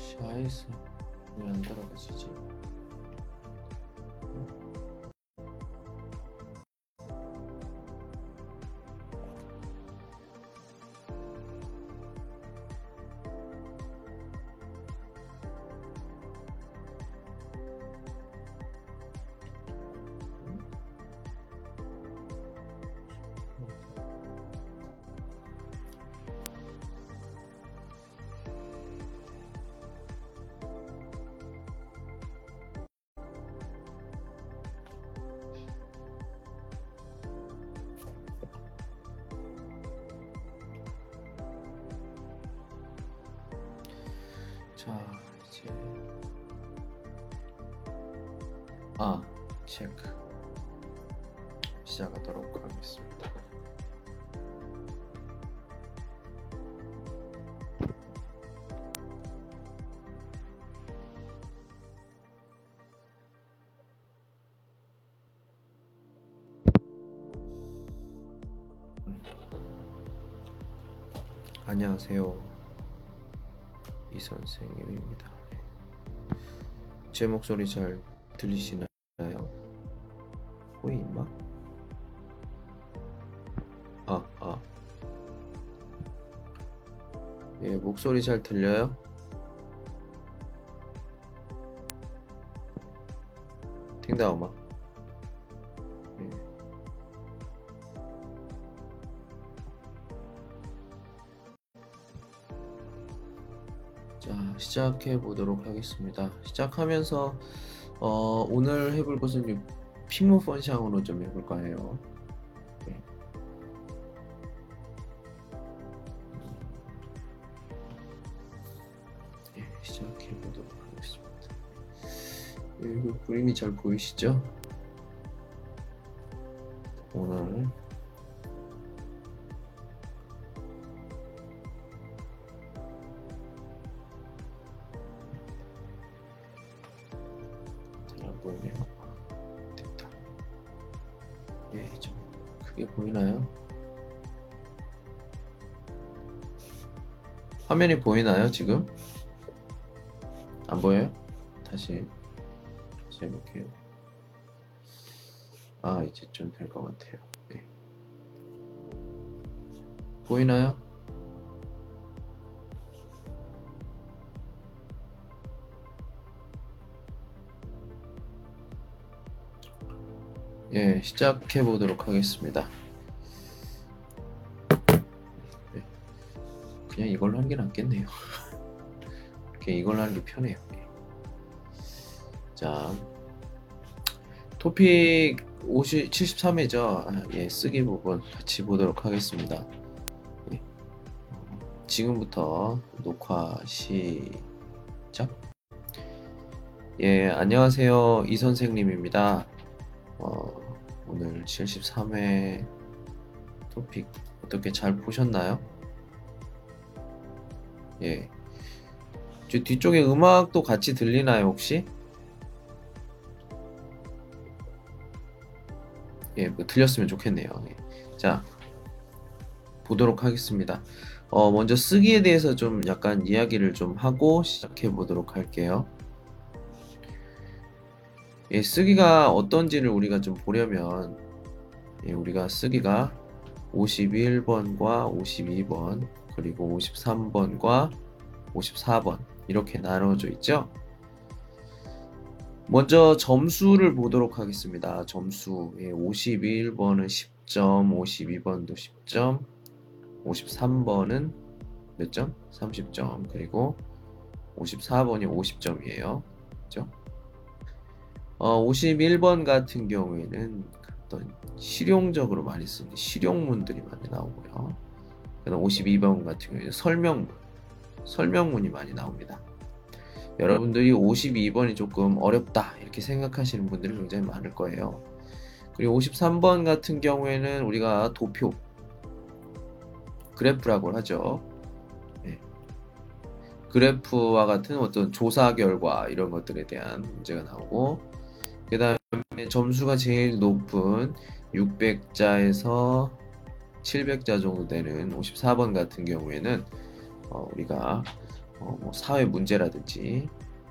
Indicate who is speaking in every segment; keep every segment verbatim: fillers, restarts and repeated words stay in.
Speaker 1: 샤이스 왜 안 따라가지지? 자, 이제 아, 체크 시작하도록 하겠습니다. 안녕하세요, 이 선생님입니다. 제 목소리 잘 들리시나요? 호이 임마? 아, 아. 예, 목소리 잘 들려요? 팅다오마. 예. 자, 시작해 보도록 하겠습니다. 시작하면서 어, 오늘 해볼 것은 핑무 펀샹으로 좀 해볼까 해요. 네. 네, 시작해 보도록 하겠습니다. 이거 그림이 잘 보이시죠? 오늘 잘 안 보이네요. 됐다. 예, 좀 크게 보이나요? 화면이 보이나요, 지금? 안 보여요? 다시 다시 해볼게요. 아, 이제 좀 될 것 같아요. 네. 보이나요? 예, 시작해 보도록 하겠습니다. 네. 그냥 이걸로 하는 게 낫겠네요. 이렇게 이걸로 하는 게 편해요. 예. 자, 토픽 칠십삼 회죠. 아, 예, 쓰기 부분 같이 보도록 하겠습니다. 예. 지금부터 녹화 시작. 예, 안녕하세요, 이 선생님입니다. 어, 오늘 칠십삼 회 토픽 어떻게 잘 보셨나요? 예, 저 뒤쪽에 음악도 같이 들리나요, 혹시? 예, 뭐 들렸으면 좋겠네요. 예. 자, 보도록 하겠습니다. 어, 먼저 쓰기에 대해서 좀 약간 이야기를 좀 하고 시작해 보도록 할게요. 예, 쓰기가 어떤지를 우리가 좀 보려면 예, 우리가 쓰기가 오십일 번과 오십이 번 그리고 오십삼 번과 오십사 번 이렇게 나눠져 있죠. 먼저 점수를 보도록 하겠습니다. 점수 예, 오십일 번은 십 점, 오십이 번도 십 점, 오십삼 번은 몇 점? 삼십 점, 그리고 오십사 번이 오십 점이에요. 그렇죠? 어, 오십일 번 같은 경우에는 어떤 실용적으로 많이 쓰는 실용문들이 많이 나오고요. 그다음 오십이 번 같은 경우에는 설명문, 설명문이 많이 나옵니다. 여러분들이 오십이 번이 조금 어렵다 이렇게 생각하시는 분들이 굉장히 많을 거예요. 그리고 오십삼 번 같은 경우에는 우리가 도표, 그래프라고 하죠. 네. 그래프와 같은 어떤 조사 결과 이런 것들에 대한 문제가 나오고, 그 다음에 점수가 제일 높은 육백 자에서 칠백 자 정도 되는 오십사 번 같은 경우에는 어, 우리가 어, 뭐 사회 문제라든지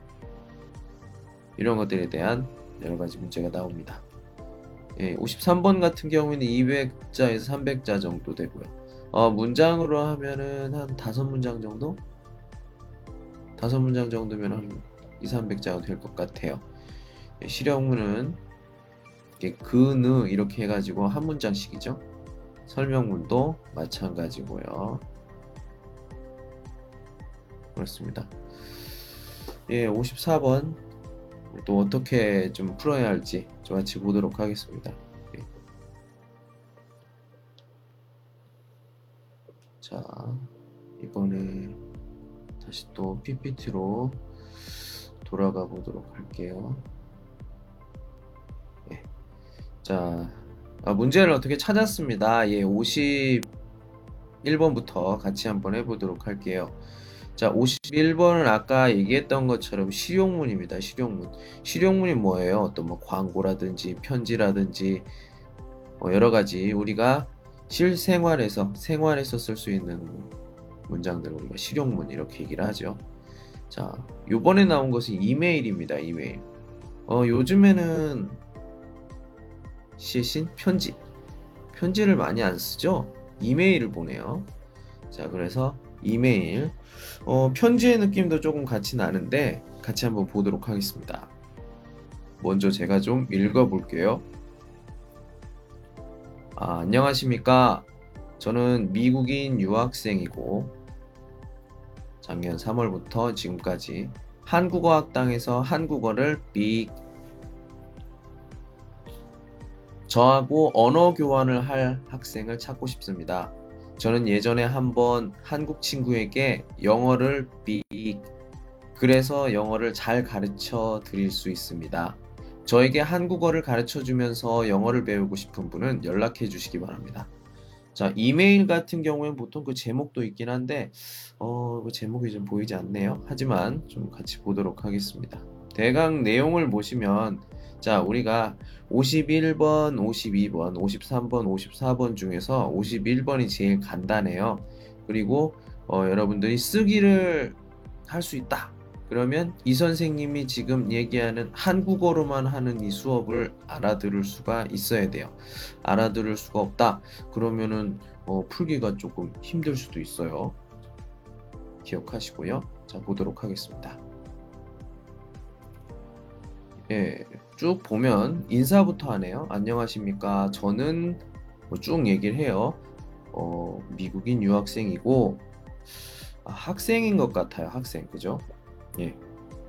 Speaker 1: 이런 것들에 대한 여러 가지 문제가 나옵니다. 예, 오십삼 번 같은 경우에는 이백 자에서 삼백 자 정도 되고요. 어, 문장으로 하면은 한 다섯 문장 정도? 다섯 문장 정도면 한 이삼백 자가 될 것 같아요. 예, 실용문은 이렇게 그, 느 이렇게 해가지고 한 문장씩이죠. 설명문도 마찬가지고요. 그렇습니다. 예, 오십사 번 또 어떻게 좀 풀어야 할지 같이 보도록 하겠습니다. 예. 자, 이번에 다시 또 피피티로 돌아가 보도록 할게요. 예. 자, 아, 문제를 어떻게 찾았습니다. 예, 오십일 번부터 같이 한번 해보도록 할게요. 자, 오십일 번은 아까 얘기했던 것처럼 실용문입니다. 실용문. 실용문이 뭐예요? 어떤 뭐 광고라든지 편지라든지 뭐 여러 가지 우리가 실생활에서 생활에서 쓸 수 있는 문장들을 우리가 실용문 이렇게 얘기를 하죠. 자, 요번에 나온 것은 이메일입니다. 이메일. 어, 요즘에는 시신 편지. 편지를 많이 안 쓰죠? 이메일을 보내요. 자, 그래서 이메일. 어, 편지의 느낌도 조금 같이 나는데 같이 한번 보도록 하겠습니다. 먼저 제가 좀 읽어볼게요. 아, 안녕하십니까. 저는 미국인 유학생이고 작년 삼월부터 지금까지 한국어 학당에서 한국어를 빅 저하고 언어 교환을 할 학생을 찾고 싶습니다. 저는 예전에 한번 한국 친구에게 영어를 빅 그래서 영어를 잘 가르쳐 드릴 수 있습니다. 저에게 한국어를 가르쳐 주면서 영어를 배우고 싶은 분은 연락해 주시기 바랍니다. 자, 이메일 같은 경우에는 보통 그 제목도 있긴 한데 어, 그 제목이 좀 보이지 않네요. 하지만 좀 같이 보도록 하겠습니다. 대강 내용을 보시면 자, 우리가 오십일 번, 오십이 번, 오십삼 번, 오십사 번 중에서 오십일 번이 제일 간단해요. 그리고 어, 여러분들이 쓰기를 할 수 있다. 그러면 이 선생님이 지금 얘기하는 한국어로만 하는 이 수업을 알아들을 수가 있어야 돼요. 알아들을 수가 없다. 그러면은 어, 풀기가 조금 힘들 수도 있어요. 기억하시고요. 자, 보도록 하겠습니다. 예, 쭉 보면 인사부터 하네요. 안녕하십니까. 저는 뭐쭉 얘기를 해요. 어, 미국인 유학생이고 아, 학생인 것 같아요. 학생, 그죠? 예.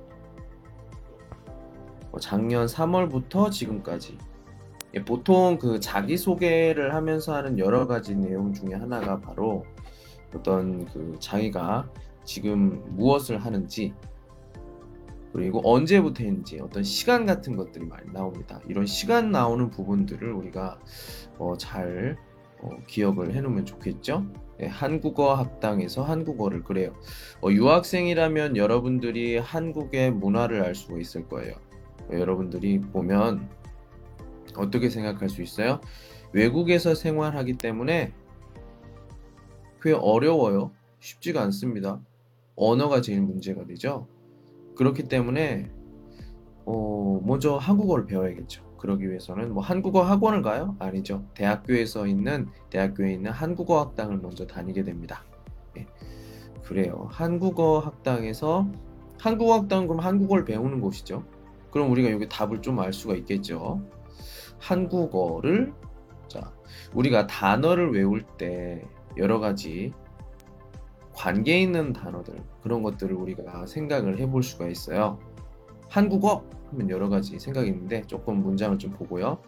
Speaker 1: 어, 작년 삼월부터 지금까지. 예, 보통 그 자기소개를 하면서 하는 여러 가지 내용 중에 하나가 바로 어떤 그 자기가 지금 무엇을 하는지 그리고 언제부터 했는지 어떤 시간 같은 것들이 많이 나옵니다. 이런 시간 나오는 부분들을 우리가 어, 잘 어, 기억을 해놓으면 좋겠죠. 네, 한국어 학당에서 한국어를 그래요. 어, 유학생이라면 여러분들이 한국의 문화를 알 수가 있을 거예요. 어, 여러분들이 보면 어떻게 생각할 수 있어요? 외국에서 생활하기 때문에 꽤 어려워요. 쉽지가 않습니다. 언어가 제일 문제가 되죠. 그렇기 때문에 어, 먼저 한국어를 배워야겠죠. 그러기 위해서는 뭐 한국어 학원을 가요? 아니죠. 대학교에서 있는 대학교에 있는 한국어 학당을 먼저 다니게 됩니다. 예, 그래요. 한국어 학당에서 한국어 학당은 그럼 한국어를 배우는 곳이죠. 그럼 우리가 여기 답을 좀 알 수가 있겠죠. 한국어를 자, 우리가 단어를 외울 때 여러 가지 관계 있는 단어들 그런 것들을 우리가 생각을 해볼 수가 있어요. 한국어 하면 여러 가지 생각이 있는데 조금 문장을 좀 보고요.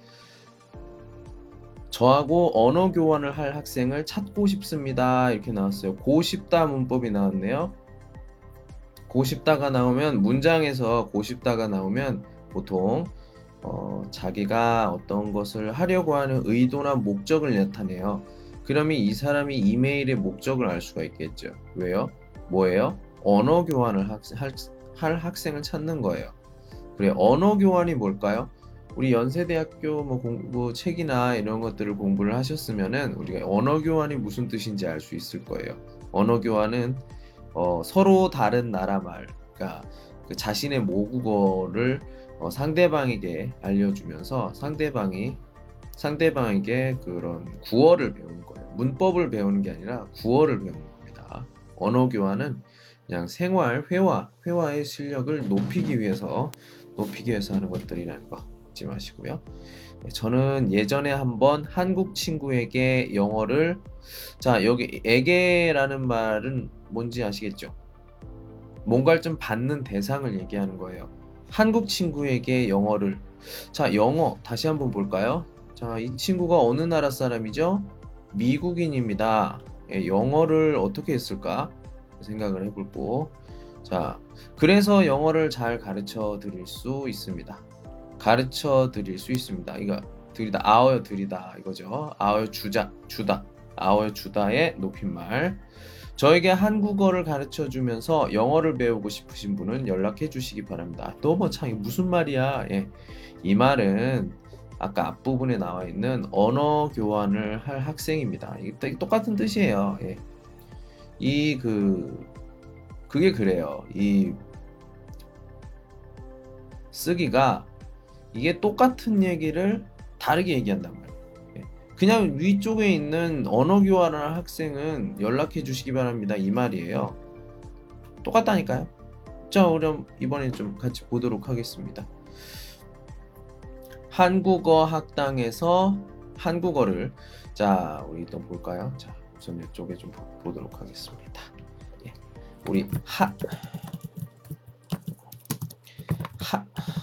Speaker 1: 저하고 언어 교환을 할 학생을 찾고 싶습니다. 이렇게 나왔어요. 고싶다 문법이 나왔네요. 고싶다가 나오면 문장에서 고싶다가 나오면 보통 어, 자기가 어떤 것을 하려고 하는 의도나 목적을 나타내요. 그러면 이 사람이 이메일의 목적을 알 수가 있겠죠. 왜요? 뭐예요? 언어 교환을 학, 할, 할 학생을 찾는 거예요. 그래, 언어 교환이 뭘까요? 우리 연세대학교 뭐 공부 책이나 이런 것들을 공부를 하셨으면은 우리가 언어 교환이 무슨 뜻인지 알 수 있을 거예요. 언어 교환은 어, 서로 다른 나라 말, 그러니까 그 자신의 모국어를 어, 상대방에게 알려주면서 상대방이 상대방에게 그런 구어를 배우는 거예요. 문법을 배우는 게 아니라 구어를 배우는 겁니다. 언어 교환은 그냥 생활, 회화, 회화의 실력을 높이기 위해서 높이기 위해서 하는 것들이라는 거 잊지 마시고요. 네, 저는 예전에 한번 한국 친구에게 영어를 자 여기 에게라는 말은 뭔지 아시겠죠? 뭔가를 좀 받는 대상을 얘기하는 거예요. 한국 친구에게 영어를 자 영어 다시 한번 볼까요? 자, 이 친구가 어느 나라 사람이죠? 미국인입니다. 예, 영어를 어떻게 했을까? 생각을 해볼고 자, 그래서 영어를 잘 가르쳐 드릴 수 있습니다. 가르쳐 드릴 수 있습니다. 이거 드리다 아어요 드리다 이거죠. 아어요 주자 주다 아어요 주다의 높임말. 저에게 한국어를 가르쳐 주면서 영어를 배우고 싶으신 분은 연락해 주시기 바랍니다. 너무 참 무슨 말이야? 예. 이 말은 아까 앞부분에 나와 있는 언어 교환을 할 학생입니다. 이게 똑같은 뜻이에요. 예. 이 그 그게 그래요. 이 쓰기가 이게 똑같은 얘기를 다르게 얘기한단 말이에요. 예. 그냥 위쪽에 있는 언어 교환을 할 학생은 연락해 주시기 바랍니다. 이 말이에요. 똑같다니까요. 자, 그럼 이번에 좀 같이 보도록 하겠습니다. 한국어 학당에서 한국어를 자 우리 또 볼까요? 자 우선 이쪽에 좀 보, 도록 하겠습니다. 예. 우리 하 하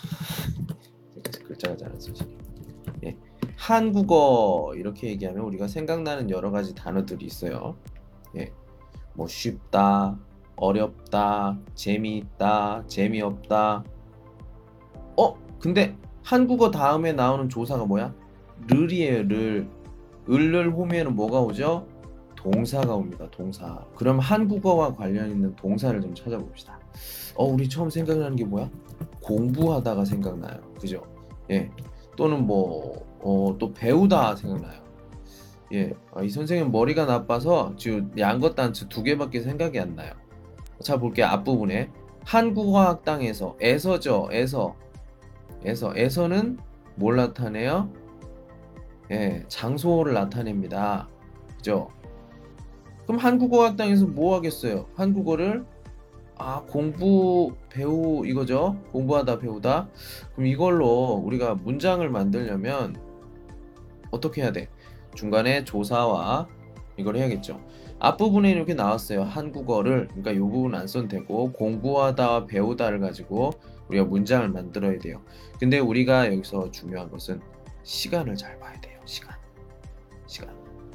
Speaker 1: 글자가 잘 안 써지네. 예. 한국어 이렇게 얘기하면 우리가 생각나는 여러 가지 단어들이 있어요. 예. 뭐 쉽다, 어렵다, 재미있다, 재미없다. 어? 근데 한국어 다음에 나오는 조사가 뭐야? 를이에요, 를. 을을 호미에는 뭐가 오죠? 동사가 옵니다, 동사. 그럼 한국어와 관련 있는 동사를 좀 찾아봅시다. 어, 우리 처음 생각나는 게 뭐야? 공부하다가 생각나요. 그죠? 예. 또는 뭐, 어, 또 배우다 생각나요. 예. 아, 이 선생님 머리가 나빠서 지금 양것 단츠 두 개밖에 생각이 안 나요. 자, 볼게요. 앞부분에. 한국어 학당에서, 에서죠, 에서. 에서 에서는 뭘 나타내요? 예, 장소를 나타냅니다. 그죠? 그럼 한국어 학당에서 뭐 하겠어요? 한국어를 아 공부 배우 이거죠? 공부하다 배우다. 그럼 이걸로 우리가 문장을 만들려면 어떻게 해야 돼? 중간에 조사와 이걸 해야겠죠. 앞부분에 이렇게 나왔어요. 한국어를 그러니까 이 부분 안 써도 되고 공부하다 배우다를 가지고 우리가 문장을 만들어야 돼요. 근데 우리가 여기서 중요한 것은 시간을 잘 봐야 돼요. 시간. 시간.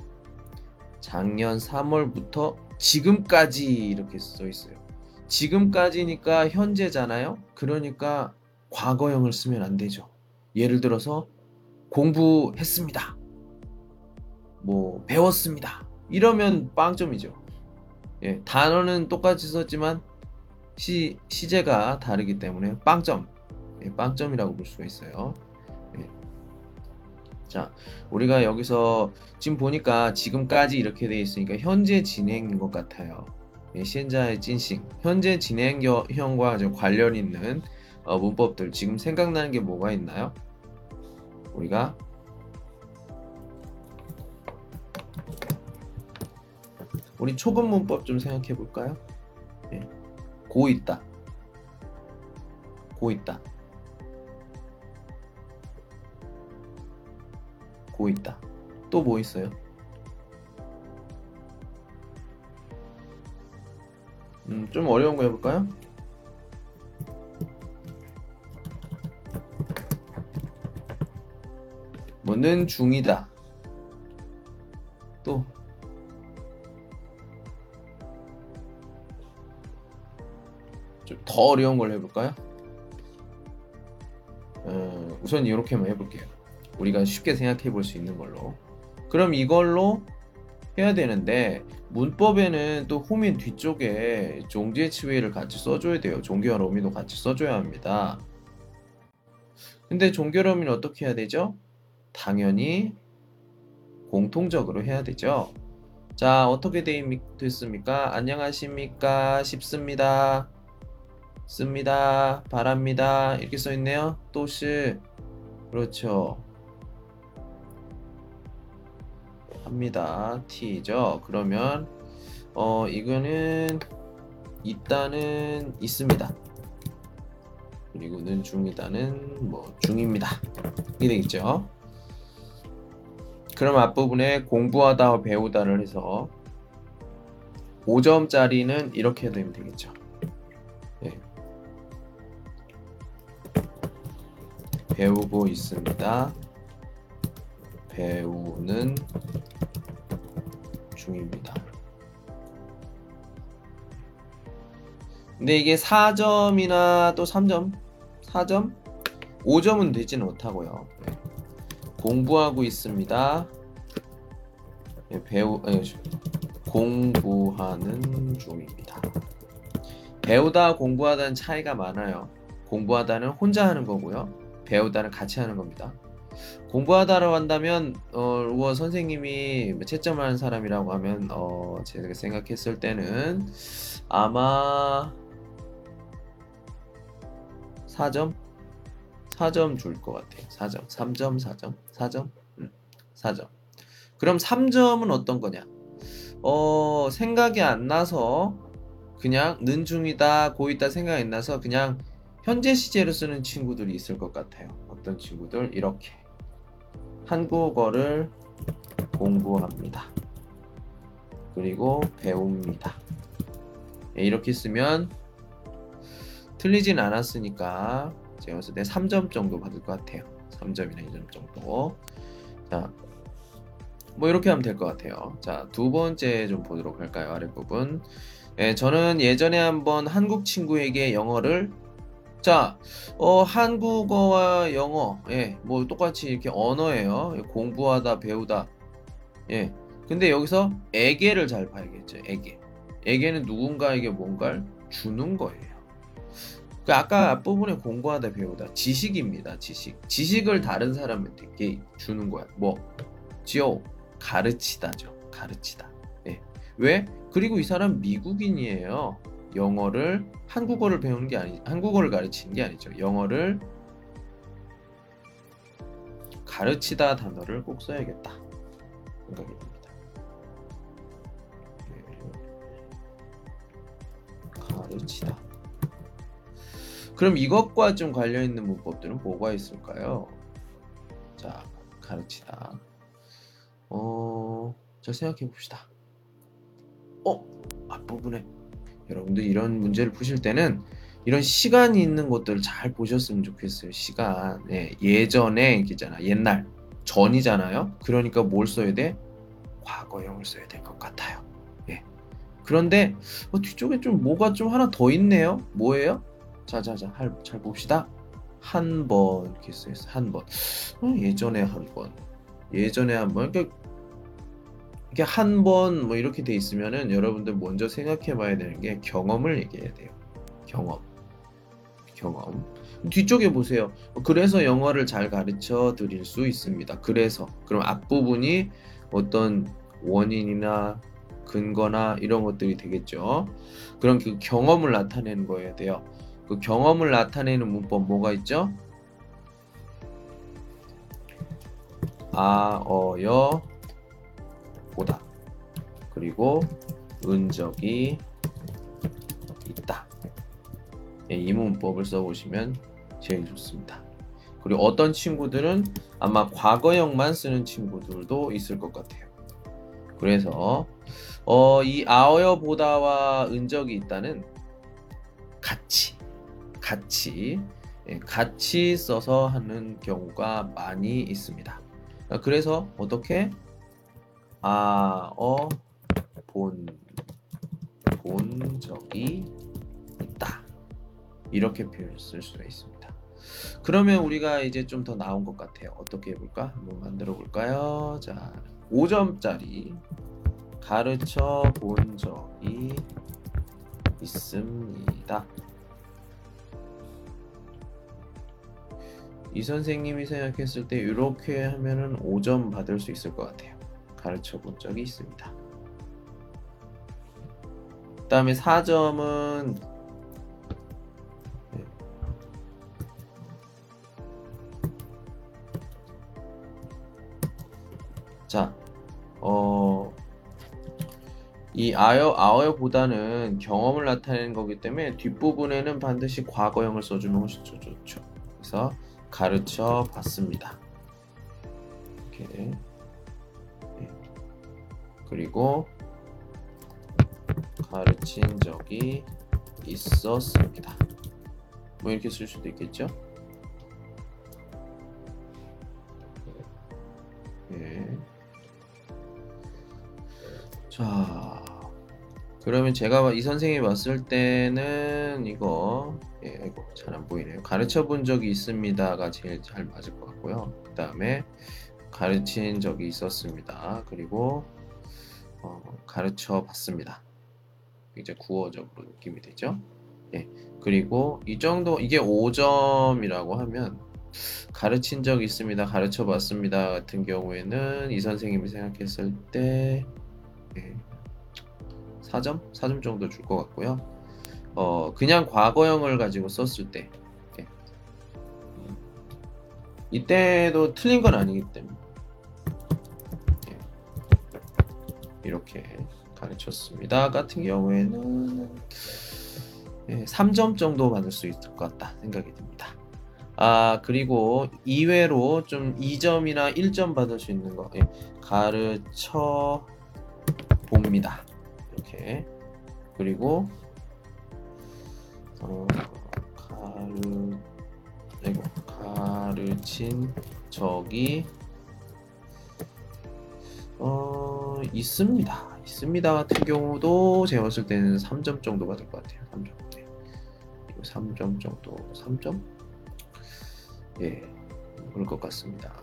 Speaker 1: 작년 삼월부터 지금까지 이렇게 써 있어요. 지금까지니까 현재잖아요. 그러니까 과거형을 쓰면 안 되죠. 예를 들어서 공부했습니다. 뭐 배웠습니다. 이러면 빵점이죠. 예, 단어는 똑같이 썼지만 시, 시제가 다르기 때문에 빵점. 예, 빵점이라고 볼 수가 있어요. 예. 자, 우리가 여기서 지금 보니까 지금까지 이렇게 돼 있으니까 현재 진행인 것 같아요. 예, 현재 진행, 현재 진행형과 관련 있는 어, 문법들 지금 생각나는 게 뭐가 있나요? 우리가 우리 초급 문법 좀 생각해 볼까요? 예. 고 있다. 고 있다. 고 있다. 또 뭐 있어요? 음, 좀 어려운 거 해볼까요? 뭐는 중이다. 또 좀 더 어려운 걸 해볼까요? 어, 우선 이렇게만 해볼게요. 우리가 쉽게 생각해 볼 수 있는 걸로. 그럼 이걸로 해야 되는데 문법에는 또 호민 뒤쪽에 종지의치웨이를 같이 써줘야 돼요. 종교와 로미도 같이 써줘야 합니다. 근데 종교 로미는 어떻게 해야 되죠? 당연히 공통적으로 해야 되죠. 자, 어떻게 되, 됐습니까? 안녕하십니까? 싶습니다. 씁니다. 바랍니다. 이렇게 써있네요. 또시. 그렇죠. 합니다. t죠. 그러면 어 이거는 있다는 있습니다. 그리고는 중이다는 뭐 중입니다. 이게 되겠죠. 그럼 앞부분에 공부하다 배우다를 해서 오 점짜리는 이렇게 되면 되겠죠. 네. 배우고 있습니다. 배우는 중입니다. 근데 이게 사 점이나 또 삼 점, 사 점, 오 점은 되지는 못하고요. 네. 공부하고 있습니다. 네, 배우, 네, 공부하는 중입니다. 배우다 공부하다는 차이가 많아요. 공부하다는 혼자 하는 거고요. 배우다는 같이 하는 겁니다. 공부하다라고 한다면 어, 우어 선생님이 채점하는 사람이라고 하면 어, 제가 생각했을 때는 아마 사 점? 사 점 줄 것 같아요. 사 점, 삼 점, 사 점, 사 점, 음, 사 점. 그럼 삼 점은 어떤 거냐? 어, 생각이 안 나서 그냥 는 중이다, 고있다 생각이 안 나서 그냥 현재 시제로 쓰는 친구들이 있을 것 같아요. 어떤 친구들? 이렇게 한국어를 공부합니다. 그리고 배웁니다. 네, 이렇게 쓰면 틀리진 않았으니까 제가 봤을 때 삼 점 정도 받을 것 같아요. 삼 점이나 이 점 정도. 자, 뭐 이렇게 하면 될 것 같아요. 자, 두 번째 좀 보도록 할까요? 아랫부분. 예, 저는 예전에 한번 한국 친구에게 영어를 자, 어, 한국어와 영어, 예, 뭐 똑같이 이렇게 언어예요. 공부하다, 배우다. 예. 근데 여기서 에게를 잘 봐야겠죠. 에게. 에게는 누군가에게 뭔가를 주는 거예요. 그 아까 앞부분에 공부하다, 배우다. 지식입니다. 지식. 지식을 다른 사람한테 주는 거야. 뭐, 지요. 가르치다죠. 가르치다. 예. 왜? 그리고 이 사람 미국인이에요. 영어를 한국어를 배우는 게 아니 한국어를 가르치는 게 아니죠. 영어를 가르치다 단어를 꼭 써야겠다 생각이 듭니다. 가르치다. 그럼 이것과 좀 관련 있는 문법들은 뭐가 있을까요? 자, 가르치다. 어, 자 생각해 봅시다. 어, 앞부분에 여러분들 이런 문제를 푸실 때는 이런 시간이 있는 것들을 잘 보셨으면 좋겠어요. 시간. 예, 예전에 있잖아. 옛날. 전이잖아요. 그러니까 뭘 써야 돼? 과거형을 써야 될 것 같아요. 예. 그런데 어, 뒤쪽에 좀 뭐가 좀 하나 더 있네요. 뭐예요? 자자자, 잘 봅시다. 한 번 이렇게 써있어. 한 번. 어, 예전에 한 번. 예전에 한 번. 그러니까 이게 한 번 뭐 이렇게 돼 있으면은 여러분들 먼저 생각해 봐야 되는 게 경험을 얘기해야 돼요. 경험. 경험. 뒤쪽에 보세요. 그래서 영어를 잘 가르쳐 드릴 수 있습니다. 그래서. 그럼 앞부분이 어떤 원인이나 근거나 이런 것들이 되겠죠. 그럼 그 경험을 나타내는 거여야 돼요. 그 경험을 나타내는 문법 뭐가 있죠? 아, 어, 여, 보다. 그리고 은적이 있다. 예, 이 문법을 써보시면 제일 좋습니다. 그리고 어떤 친구들은 아마 과거형만 쓰는 친구들도 있을 것 같아요. 그래서 어, 이 아어여 보다와 은적이 있다는 같이 같이 예, 같이 써서 하는 경우가 많이 있습니다. 그래서 어떻게 아어 본, 본 적이 있다. 이렇게 표현을 쓸 수가 있습니다. 그러면 우리가 이제 좀 더 나온 것 같아요. 어떻게 해볼까? 한번 만들어 볼까요? 자, 오 점짜리 가르쳐 본 적이 있습니다. 이 선생님이 생각했을 때 이렇게 하면은 오 점 받을 수 있을 것 같아요. 가르쳐 본 적이 있습니다. 다음에 사 점은 자, 어, 이 아여, 아어보다는 경험을 나타내는 거기 때문에 뒷부분에는 반드시 과거형을 써주면 훨씬 더 좋죠. 그래서 가르쳐 봤습니다. 이렇게. 그리고 가르친 적이 있었습니다. 뭐 이렇게 쓸 수도 있겠죠. 예. 자, 그러면 제가 이 선생님이 봤을 때는 이거 예, 아이고 잘 안 보이네요. 가르쳐 본 적이 있습니다가 제일 잘 맞을 것 같고요. 그 다음에 가르친 적이 있었습니다. 그리고 어, 가르쳐 봤습니다. 이제 구어적으로 느낌이 되죠. 예. 그리고 이 정도 이게 오 점이라고 하면 가르친 적 있습니다. 가르쳐 봤습니다. 같은 경우에는 이 선생님이 생각했을 때 예. 사 점? 사 점 정도 줄 것 같고요. 어, 그냥 과거형을 가지고 썼을 때 예. 이때도 틀린 건 아니기 때문에 예. 이렇게 가르쳤습니다. 같은 경우에는 예, 삼 점 정도 받을 수 있을 것 같다 생각이 듭니다. 아, 그리고 이외로 좀 이 점이나 일 점 받을 수 있는 거 예, 가르쳐 봅니다. 이렇게. 그리고 어, 가르 아이고, 가르친 적이 어, 있습니다. 있습니다 같은 경우도 제가 봤을 때는 삼 점 정도 받을 것 같아요. 삼 점. 네. 이거 삼 점 정도. 삼 점? 예. 그럴 것 같습니다.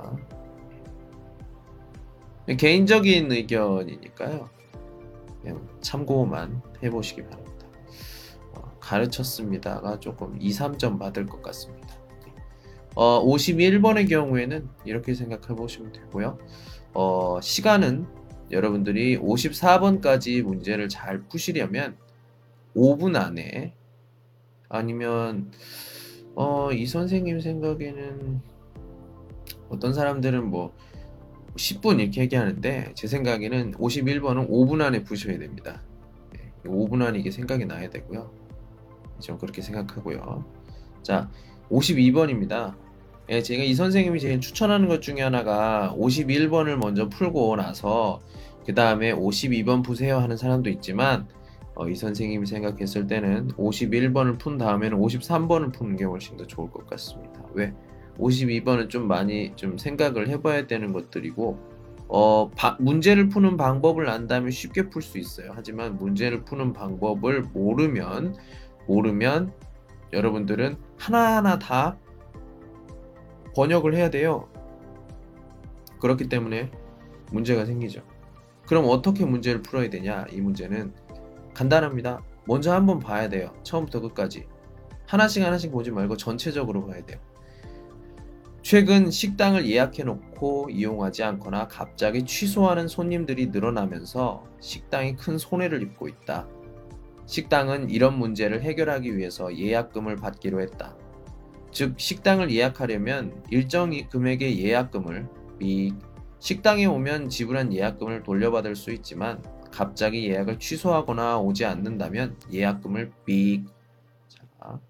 Speaker 1: 개인적인 의견이니까요. 그냥 참고만 해보시기 바랍니다. 어, 가르쳤습니다가 조금 이, 삼 점 받을 것 같습니다. 어, 오십일 번의 경우에는 이렇게 생각해 보시면 되고요. 어, 시간은 여러분들이 오십사 번까지 문제를 잘 푸시려면 오 분 안에 아니면 어, 이 선생님 생각에는 어떤 사람들은 뭐 십 분 이렇게 얘기하는데 제 생각에는 오십일 번은 오 분 안에 푸셔야 됩니다. 네, 오 분 안에 이게 생각이 나야 되고요. 좀 그렇게 생각하고요. 자, 오십이 번입니다. 예, 제가 이 선생님이 제일 추천하는 것 중에 하나가 오십일 번을 먼저 풀고 나서 그 다음에 오십이 번 푸세요 하는 사람도 있지만 어, 이 선생님이 생각했을 때는 오십일 번을 푼 다음에는 오십삼 번을 푸는 게 훨씬 더 좋을 것 같습니다. 왜? 오십이 번은 좀 많이 좀 생각을 해봐야 되는 것들이고 어, 바, 문제를 푸는 방법을 안다면 쉽게 풀 수 있어요. 하지만 문제를 푸는 방법을 모르면 모르면 여러분들은 하나하나 다 번역을 해야 돼요. 그렇기 때문에 문제가 생기죠. 그럼 어떻게 문제를 풀어야 되냐? 이 문제는 간단합니다. 먼저 한번 봐야 돼요. 처음부터 끝까지. 하나씩 하나씩 보지 말고 전체적으로 봐야 돼요. 최근 식당을 예약해 놓고 이용하지 않거나 갑자기 취소하는 손님들이 늘어나면서 식당이 큰 손해를 입고 있다. 식당은 이런 문제를 해결하기 위해서 예약금을 받기로 했다. 즉 식당을 예약하려면 일정 금액의 예약금을 미 식당에 오면 지불한 예약금을 돌려받을 수 있지만 갑자기 예약을 취소하거나 오지 않는다면 예약금을 삑. 자,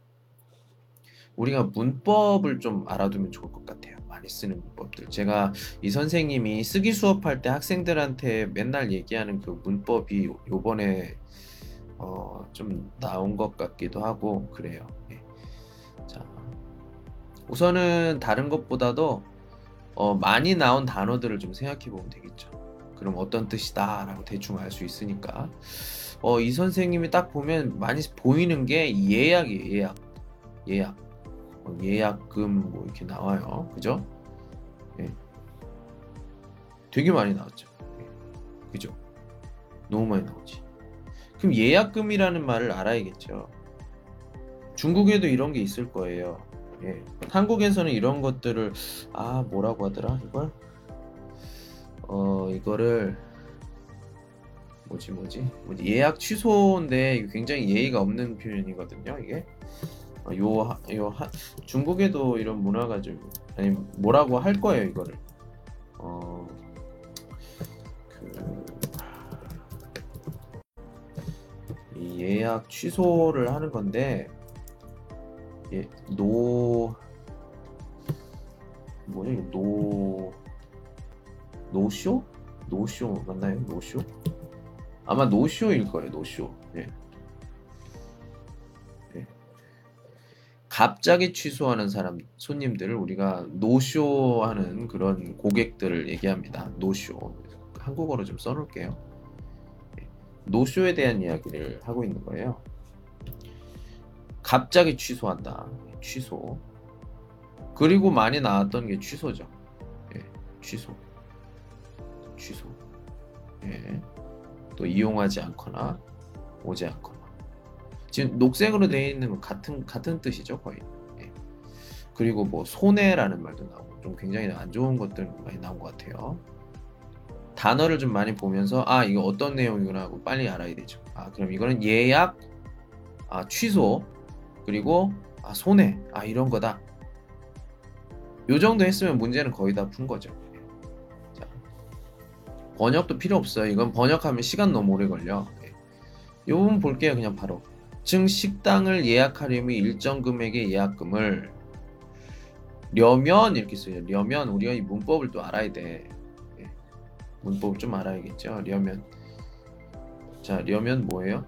Speaker 1: 우리가 문법을 좀 알아두면 좋을 것 같아요. 많이 쓰는 문법들. 제가 이 선생님이 쓰기 수업할 때 학생들한테 맨날 얘기하는 그 문법이 요번에 어, 좀 나온 것 같기도 하고 그래요. 네. 자, 우선은 다른 것보다도 어, 많이 나온 단어들을 좀 생각해 보면 되겠죠. 그럼 어떤 뜻이다 라고 대충 알 수 있으니까 어, 이 선생님이 딱 보면 많이 보이는 게 예약이에요. 예약 예약 어, 예약금 뭐 이렇게 나와요. 그죠? 예. 되게 많이 나왔죠. 예. 그죠? 너무 많이 나오지. 그럼 예약금이라는 말을 알아야겠죠. 중국에도 이런 게 있을 거예요. 예. 한국에서는 이런 것들을 아 뭐라고 하더라 이걸 어 이거를 뭐지 뭐지 뭐지 뭐지 예약 취소인데 이거 굉장히 예의가 없는 표현이거든요. 이게 어, 요, 요 하, 중국에도 이런 문화가 좀 아니 뭐라고 할 거예요 이거를. 어, 그, 이 예약 취소를 하는 건데 예, 노 뭐냐 이거 노 노쇼? 노쇼 맞나요? 노쇼? 아마 노쇼일 거예요. 노쇼. 예. 예. 갑자기 취소하는 사람 손님들을 우리가 노쇼하는 그런 고객들을 얘기합니다. 노쇼. 한국어로 좀 써놓을게요. 예. 노쇼에 대한 이야기를 하고 있는 거예요. 갑자기 취소한다. 취소. 그리고 많이 나왔던 게 취소죠. 예. 취소. 취소. 예. 또 이용하지 않거나 오지 않거나. 지금 녹색으로 되어 있는 건 같은 같은 뜻이죠 거의. 예. 그리고 뭐 손해라는 말도 나오고 좀 굉장히 안 좋은 것들 많이 나온 것 같아요. 단어를 좀 많이 보면서 아 이거 어떤 내용이구나 하고 빨리 알아야 되죠. 아 그럼 이거는 예약, 아 취소, 그리고 아 손해, 아 이런 거다. 요 정도 했으면 문제는 거의 다 푼 거죠. 자, 번역도 필요 없어요. 이건 번역하면 시간 너무 오래 걸려. 예. 요 부분 볼게요. 그냥 바로. 즉 식당을 예약하려면 일정 금액의 예약금을 려면 이렇게 써요. 려면 우리가 이 문법을 또 알아야 돼. 예. 문법을 좀 알아야겠죠. 려면. 자, 려면 뭐예요?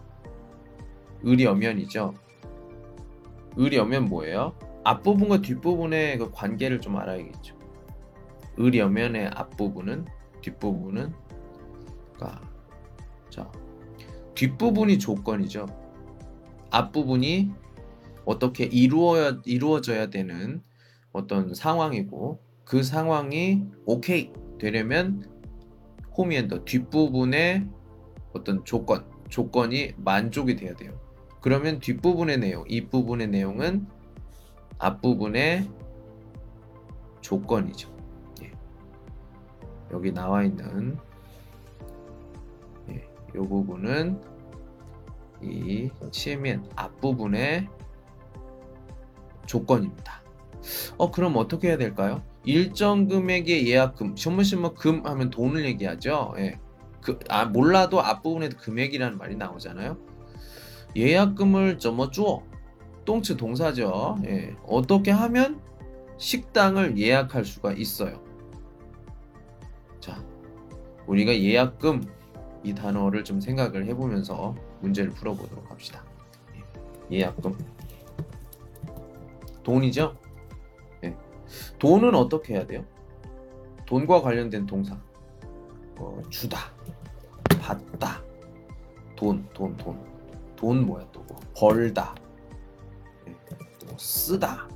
Speaker 1: 의려면이죠. 의려면 뭐예요? 앞부분과 뒷부분의 그 관계를 좀 알아야겠죠. 의려면의 앞부분은, 뒷부분은, 그러니까 자 뒷부분이 조건이죠. 앞부분이 어떻게 이루어야, 이루어져야 되는 어떤 상황이고, 그 상황이 오케이 되려면 홈이엔더 뒷부분의 어떤 조건, 조건이 만족이 돼야 돼요. 그러면 뒷부분의 내용, 이 부분의 내용은 앞부분의 조건이죠. 예. 여기 나와 있는 예, 이 부분은 이 치면 앞부분의 조건입니다. 어 그럼 어떻게 해야 될까요? 일정 금액의 예약금, 신문신문 금 하면 돈을 얘기하죠. 예. 그, 아 몰라도 앞부분에도 금액이라는 말이 나오잖아요. 예약금을 점어 줘. 똥츠 동사죠. 예. 어떻게 하면 식당을 예약할 수가 있어요. 자, 우리가 예약금 이 단어를 좀 생각을 해보면서 문제를 풀어보도록 합시다. 예약금. 돈이죠? 예. 돈은 어떻게 해야 돼요? 돈과 관련된 동사. 어, 주다, 받다, 돈, 돈, 돈. 돈 뭐야 또 뭐. 벌다, 예. 또 쓰다.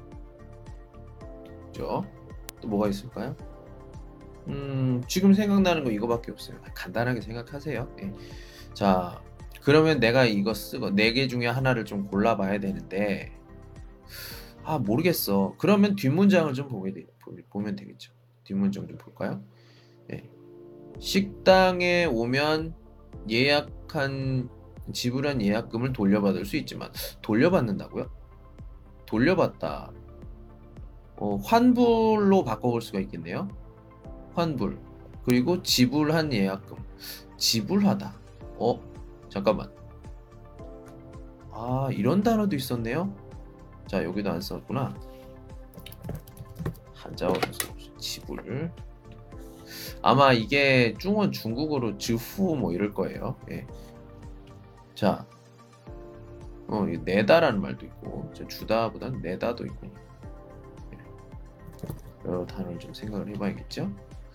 Speaker 1: 그죠? 또 뭐가 있을까요? 음, 지금 생각나는 거 이거밖에 없어요. 간단하게 생각하세요. 예. 자, 그러면 내가 이거 쓰고 네 개 중에 하나를 좀 골라봐야 되는데, 아 모르겠어. 그러면 뒷문장을 좀 보게 돼, 보면 되겠죠. 뒷문장 좀 볼까요? 예. 식당에 오면 예약한 지불한 예약금을 돌려받을 수 있지만, 돌려받는다고요? 돌려받다. 어, 환불로 바꿔볼 수가 있겠네요. 환불. 그리고 지불한 예약금. 지불하다. 어? 잠깐만. 아 이런 단어도 있었네요. 자 여기도 안 썼구나. 한자어로 써봅시다. 지불. 아마 이게 중원 중국어로 즈후 뭐 이럴 거예요. 예. 자, 어, 내다라는 말도 있고, 주다보다는 내다도 있고, 예. 여러 단어를 좀 생각을 해봐야겠죠.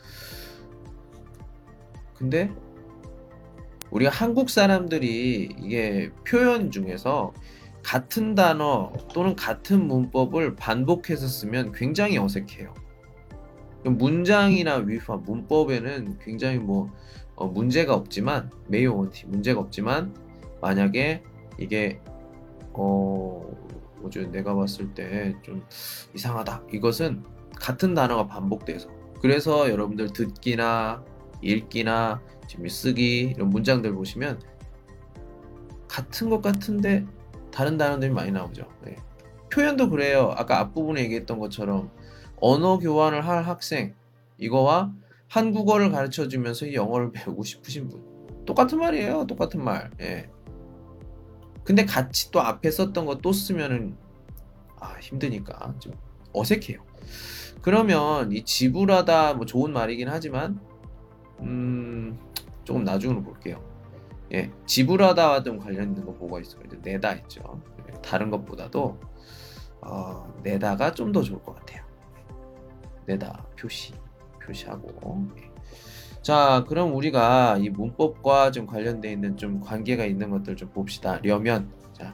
Speaker 1: 근데 우리가 한국 사람들이 이게 표현 중에서 같은 단어 또는 같은 문법을 반복해서 쓰면 굉장히 어색해요. 문장이나 위파, 문법에는 굉장히 뭐 어, 문제가 없지만, 매우 원티 문제가 없지만, 만약에 이게 어 뭐죠? 내가 봤을 때 좀 이상하다. 이것은 같은 단어가 반복돼서, 그래서 여러분들 듣기나 읽기나 지금 쓰기 이런 문장들 보시면 같은 것 같은데 다른 단어들이 많이 나오죠. 네. 표현도 그래요. 아까 앞부분에 얘기했던 것처럼 언어 교환을 할 학생 이거와 한국어를 가르쳐 주면서 영어를 배우고 싶으신 분 똑같은 말이에요. 똑같은 말. 예. 근데 같이 또 앞에 썼던 거 또 쓰면은 아, 힘드니까 좀 어색해요. 그러면 이 지불하다 뭐 좋은 말이긴 하지만 음, 조금 나중으로 볼게요. 예, 지불하다와 좀 관련된 거 뭐가 있어요? 이제 내다 했죠. 다른 것보다도 어, 내다가 좀 더 좋을 것 같아요. 내다 표시 표시하고. 예. 자, 그럼 우리가 이 문법과 좀 관련돼 있는 좀 관계가 있는 것들 좀 봅시다. 려면 자,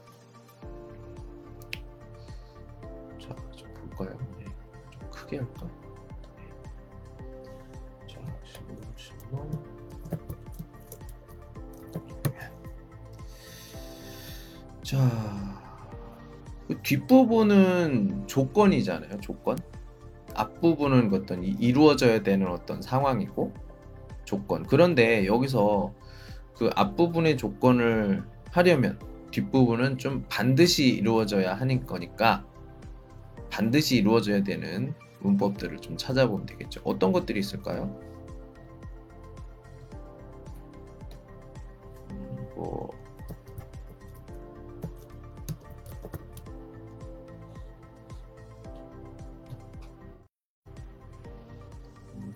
Speaker 1: 자, 좀 볼까요? 예, 좀 크게 할까? 자, 십오, 십오. 자, 그 뒷부분은 조건이잖아요. 조건. 앞부분은 어떤 이- 이루어져야 되는 어떤 상황이고 조건. 그런데 여기서 그 앞부분의 조건을 하려면 뒷부분은 좀 반드시 이루어져야 하는 거니까 반드시 이루어져야 되는 문법들을 좀 찾아보면 되겠죠. 어떤 것들이 있을까요? 음, 뭐 음,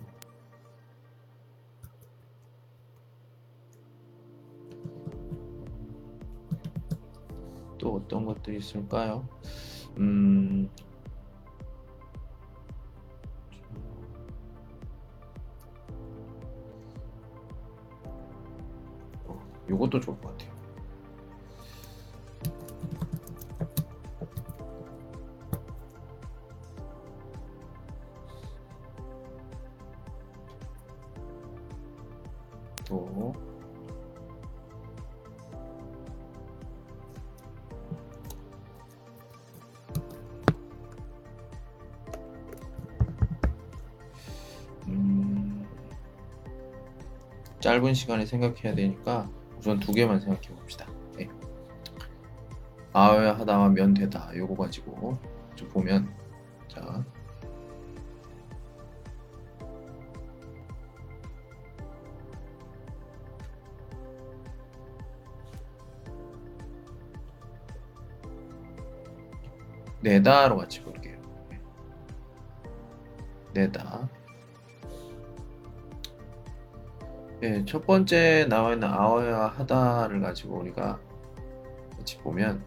Speaker 1: 또 어떤 것들이 있을까요? 음, 어, 요것도 좋을 것 같아요. 또 음, 짧은 시간에 생각해야 되니까 우선 두 개만 생각해 봅시다. 네. 아야 하다가 면 되다 요거 가지고 좀 보면 자 내다로 같이 볼게요. 내다. 예, 첫 번째 나와 있는 아어야 하다를 가지고 우리가 같이 보면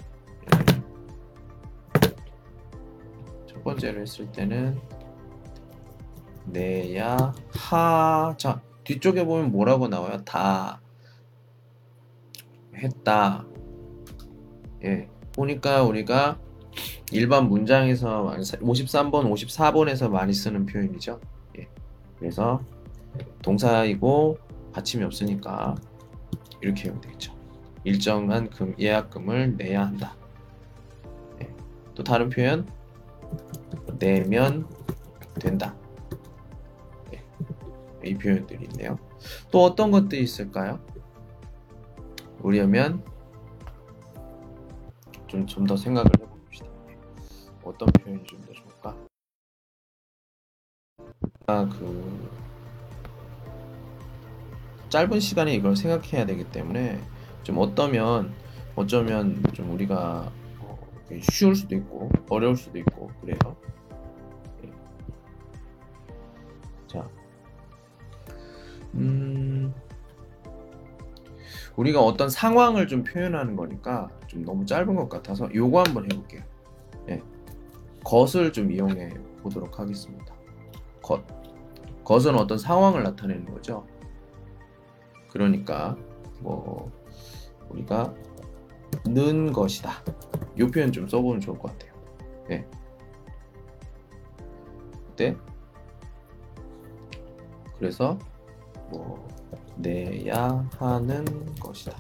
Speaker 1: 첫 번째로 했을 때는 내야 하. 자, 뒤쪽에 보면 뭐라고 나와요? 다 했다. 예, 보니까 우리가 일반 문장에서 오십삼 번, 오십사 번에서 많이 쓰는 표현이죠. 예, 그래서 동사이고 받침이 없으니까 이렇게 하면 되겠죠. 일정한 금, 예약금을 내야 한다. 예, 또 다른 표현 내면 된다. 예, 이 표현들이 있네요. 또 어떤 것들이 있을까요? 우려면 좀 좀 더 생각을 해봅시다. 어떤 표현이 좀 더 좋을까? 아, 그 짧은 시간에 이걸 생각해야 되기 때문에 좀 어떠면 어쩌면 좀 우리가 어, 쉬울 수도 있고 어려울 수도 있고 그래요. 예. 자, 음, 우리가 어떤 상황을 좀 표현하는 거니까 좀 너무 짧은 것 같아서 요거 한번 해볼게요. 예. 것을 좀 이용해 보도록 하겠습니다. 것. 것은 어떤 상황을 나타내는 거죠. 그러니까 뭐 우리가 는 것이다. 이 표현 좀 써보면 좋을 것 같아요. 예. 그때 그래서 뭐 내야 하는 것이다.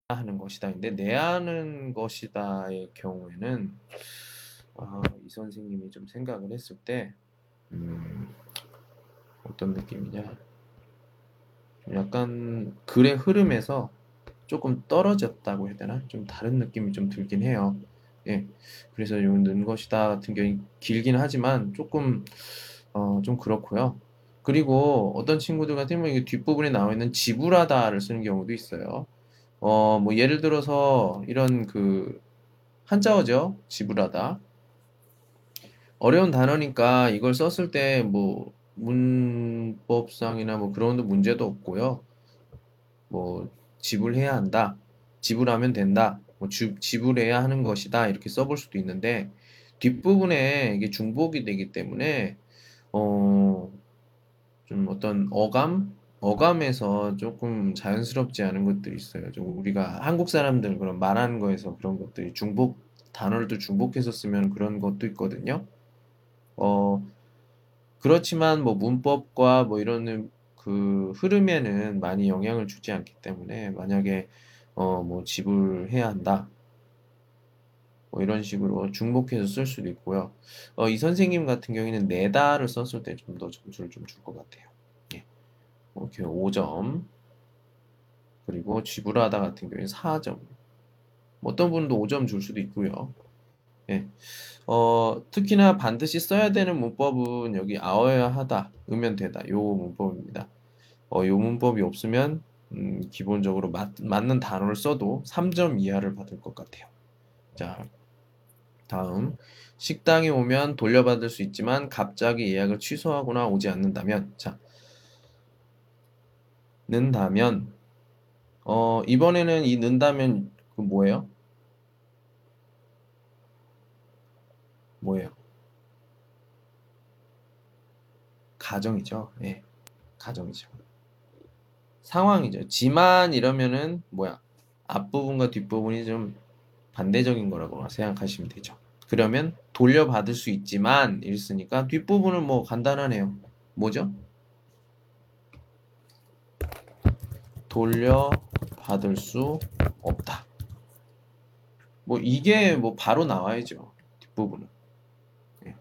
Speaker 1: 하는 것이다인데 내야 하는 것이다의 경우에는 아, 이 선생님이 좀 생각을 했을 때 음, 어떤 느낌이냐 좀 약간 글의 흐름에서 조금 떨어졌다고 해야 되나? 좀 다른 느낌이 좀 들긴 해요. 예. 그래서 요 는 것이다 같은 경우 길긴 하지만 조금 어, 좀 그렇고요. 그리고 어떤 친구들 같은 경우는 이게 뒷부분에 나와 있는 지불하다를 쓰는 경우도 있어요. 어, 뭐 예를 들어서 이런 그 한자어죠. 지불하다. 어려운 단어니까 이걸 썼을 때 뭐 문법상이나 뭐 그런 문제도 없고요. 뭐 지불해야 한다. 지불하면 된다. 뭐 주, 지불해야 하는 것이다. 이렇게 써볼 수도 있는데 뒷부분에 이게 중복이 되기 때문에 어, 좀 어떤 어감? 어감에서 조금 자연스럽지 않은 것들이 있어요. 좀 우리가 한국 사람들 그런 말하는 거에서 그런 것들이 중복, 단어를 또 중복해서 쓰면 그런 것도 있거든요. 어, 그렇지만 뭐 문법과 뭐 이런 그 흐름에는 많이 영향을 주지 않기 때문에 만약에 어, 뭐 지불해야 한다. 뭐 이런 식으로 중복해서 쓸 수도 있고요. 어, 이 선생님 같은 경우에는 내다를 썼을 때 좀 더 점수를 좀 줄 것 같아요. 예. 이렇게 오 점. 그리고 지불하다 같은 경우에 사 점. 뭐 어떤 분도 오 점 줄 수도 있고요. 예. 어, 특히나 반드시 써야 되는 문법은 여기 아어야 하다, 으면 되다. 요 문법입니다. 어, 요 문법이 없으면 음, 기본적으로 맞, 맞는 단어를 써도 삼 점 이하를 받을 것 같아요. 자, 다음. 식당에 오면 돌려받을 수 있지만 갑자기 예약을 취소하거나 오지 않는다면 자, 는다면 어, 이번에는 이 는다면 그 뭐예요? 뭐예요? 가정이죠. 예, 가정이죠. 상황이죠. 지만 이러면은 뭐야? 앞부분과 뒷부분이 좀 반대적인 거라고 생각하시면 되죠. 그러면 돌려받을 수 있지만 이랬으니까 뒷부분은 뭐 간단하네요. 뭐죠? 돌려받을 수 없다. 뭐 이게 뭐 바로 나와야죠. 뒷부분은. 예.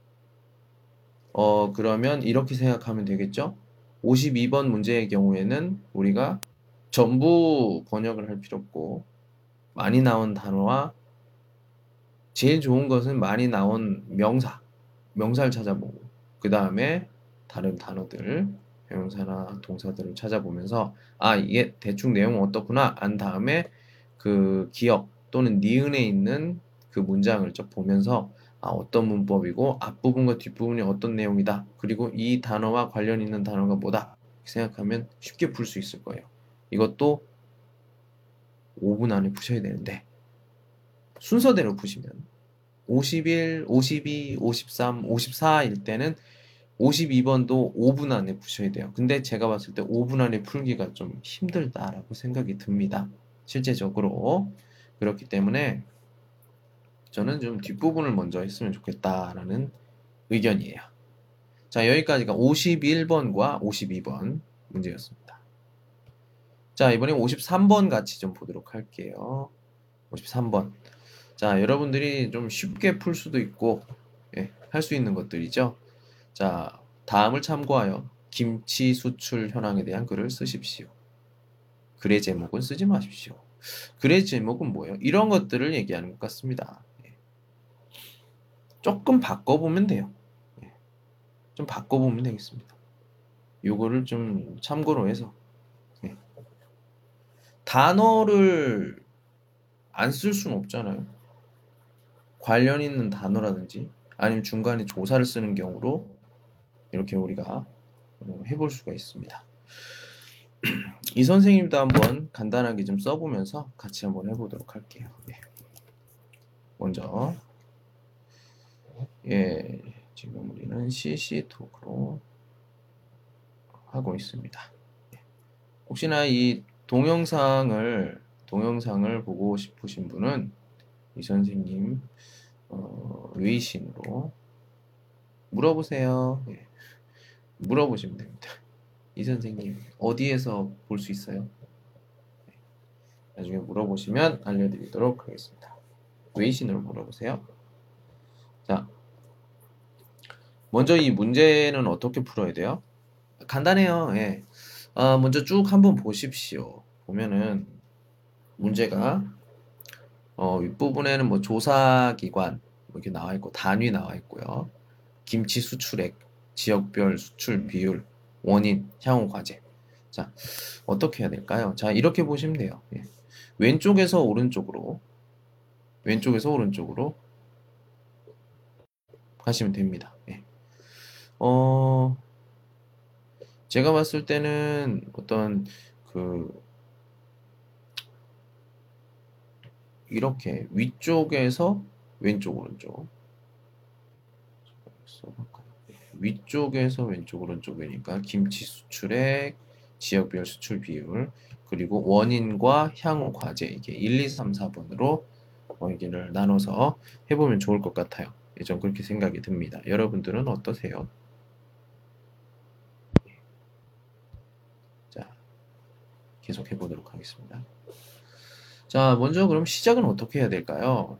Speaker 1: 어, 그러면 이렇게 생각하면 되겠죠? 오십이 번 문제의 경우에는 우리가 전부 번역을 할 필요 없고 많이 나온 단어와 제일 좋은 것은 많이 나온 명사, 명사를 찾아보고 그 다음에 다른 단어들, 형용사나 동사들을 찾아보면서 아 이게 대충 내용은 어떻구나 안 다음에 그 기억 또는 니은에 있는 그 문장을 쭉 보면서 아 어떤 문법이고 앞부분과 뒷부분이 어떤 내용이다 그리고 이 단어와 관련 있는 단어가 뭐다 생각하면 쉽게 풀 수 있을 거예요. 이것도 오 분 안에 푸셔야 되는데 순서대로 푸시면 오십일, 오십이, 오십삼, 오십사일 때는 오십이 번도 오 분 안에 푸셔야 돼요. 근데 제가 봤을 때 오 분 안에 풀기가 좀 힘들다라고 생각이 듭니다. 실제적으로. 그렇기 때문에 저는 좀 뒷부분을 먼저 했으면 좋겠다라는 의견이에요. 자, 여기까지가 오십일 번과 오십이 번 문제였습니다. 자, 이번에 오십삼 번 같이 좀 보도록 할게요. 오십삼 번. 자, 여러분들이 좀 쉽게 풀 수도 있고, 예, 할 수 있는 것들이죠. 자, 다음을 참고하여 김치 수출 현황에 대한 글을 쓰십시오. 글의 제목은 쓰지 마십시오. 글의 제목은 뭐예요? 이런 것들을 얘기하는 것 같습니다. 예. 조금 바꿔보면 돼요. 예. 좀 바꿔보면 되겠습니다. 요거를 좀 참고로 해서 예. 단어를 안 쓸 수는 없잖아요. 관련 있는 단어라든지 아니면 중간에 조사를 쓰는 경우로 이렇게 우리가 어, 해볼 수가 있습니다. 이 선생님도 한번 간단하게 좀 써보면서 같이 한번 해보도록 할게요. 예. 먼저 예, 지금 우리는 씨씨톡으로 하고 있습니다. 예. 혹시나 이 동영상을 동영상을 보고 싶으신 분은 이 선생님 어, 웨이신으로 물어보세요. 예. 물어보시면 됩니다. 이 선생님 어디에서 볼 수 있어요? 나중에 물어보시면 알려드리도록 하겠습니다. 웨이신으로 물어보세요. 자, 먼저 이 문제는 어떻게 풀어야 돼요? 간단해요. 예. 아, 먼저 쭉 한번 보십시오. 보면은 문제가 어, 윗부분에는 뭐 조사기관 뭐 이렇게 나와 있고 단위 나와 있고요. 김치 수출액, 지역별 수출 비율, 원인, 향후 과제. 자, 어떻게 해야 될까요? 자, 이렇게 보시면 돼요. 예. 왼쪽에서 오른쪽으로, 왼쪽에서 오른쪽으로 가시면 됩니다. 예. 어, 제가 봤을 때는 어떤 그 이렇게 위쪽에서 왼쪽 오른쪽 써볼까요? 위쪽에서 왼쪽 오른쪽이니까 김치 수출액, 지역별 수출 비율, 그리고 원인과 향후 과제 이게 일, 이, 삼, 사 번으로 어, 여기를 나눠서 해보면 좋을 것 같아요. 예, 전 그렇게 생각이 듭니다. 여러분들은 어떠세요? 자, 계속 해보도록 하겠습니다. 자, 먼저 그럼 시작은 어떻게 해야 될까요?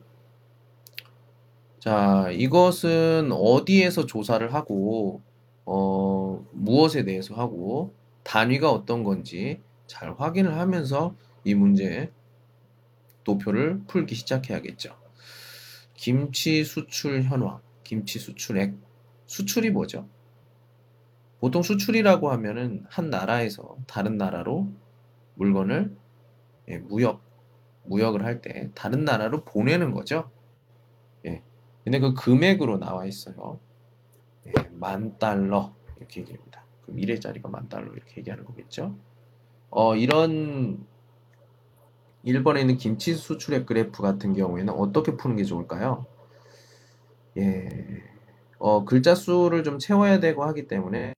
Speaker 1: 자, 이것은 어디에서 조사를 하고, 어, 무엇에 대해서 하고, 단위가 어떤 건지 잘 확인을 하면서 이 문제 도표를 풀기 시작해야겠죠. 김치 수출 현황, 김치 수출액. 수출이 뭐죠? 보통 수출이라고 하면은 한 나라에서 다른 나라로 물건을 예, 무역, 무역을 할 때 다른 나라로 보내는 거죠. 예. 근데 그 금액으로 나와 있어요. 예, 만 달러 이렇게 얘기합니다. 그럼 일 회짜리가 만 달러 이렇게 얘기하는 거겠죠. 어, 이런 일 번에 있는 김치 수출액 그래프 같은 경우에는 어떻게 푸는 게 좋을까요? 예, 어, 글자 수를 좀 채워야 되고 하기 때문에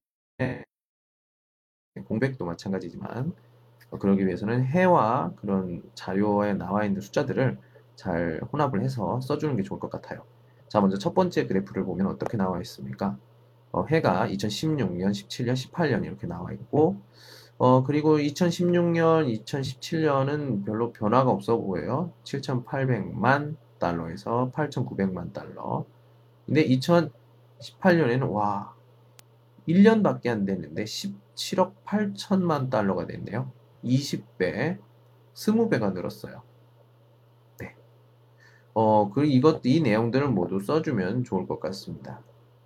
Speaker 1: 공백도 마찬가지지만 어, 그러기 위해서는 해와 그런 자료에 나와 있는 숫자들을 잘 혼합을 해서 써주는 게 좋을 것 같아요. 자, 먼저 첫 번째 그래프를 보면 어떻게 나와 있습니까? 어, 해가 이천십육 년, 십칠 년, 십팔 년 이렇게 나와 있고 어, 그리고 이천십육 년, 이천십칠 년은 별로 변화가 없어 보여요. 칠천팔백만 달러에서 팔천구백만 달러. 근데 이천십팔 년에는 와, 일 년밖에 안 됐는데 십칠억 팔천만 달러가 됐네요. 이십 배, 이십 배가 늘었어요. 네. 어, 그 이것 이 내용들을 모두 써주면 좋을 것 같습니다.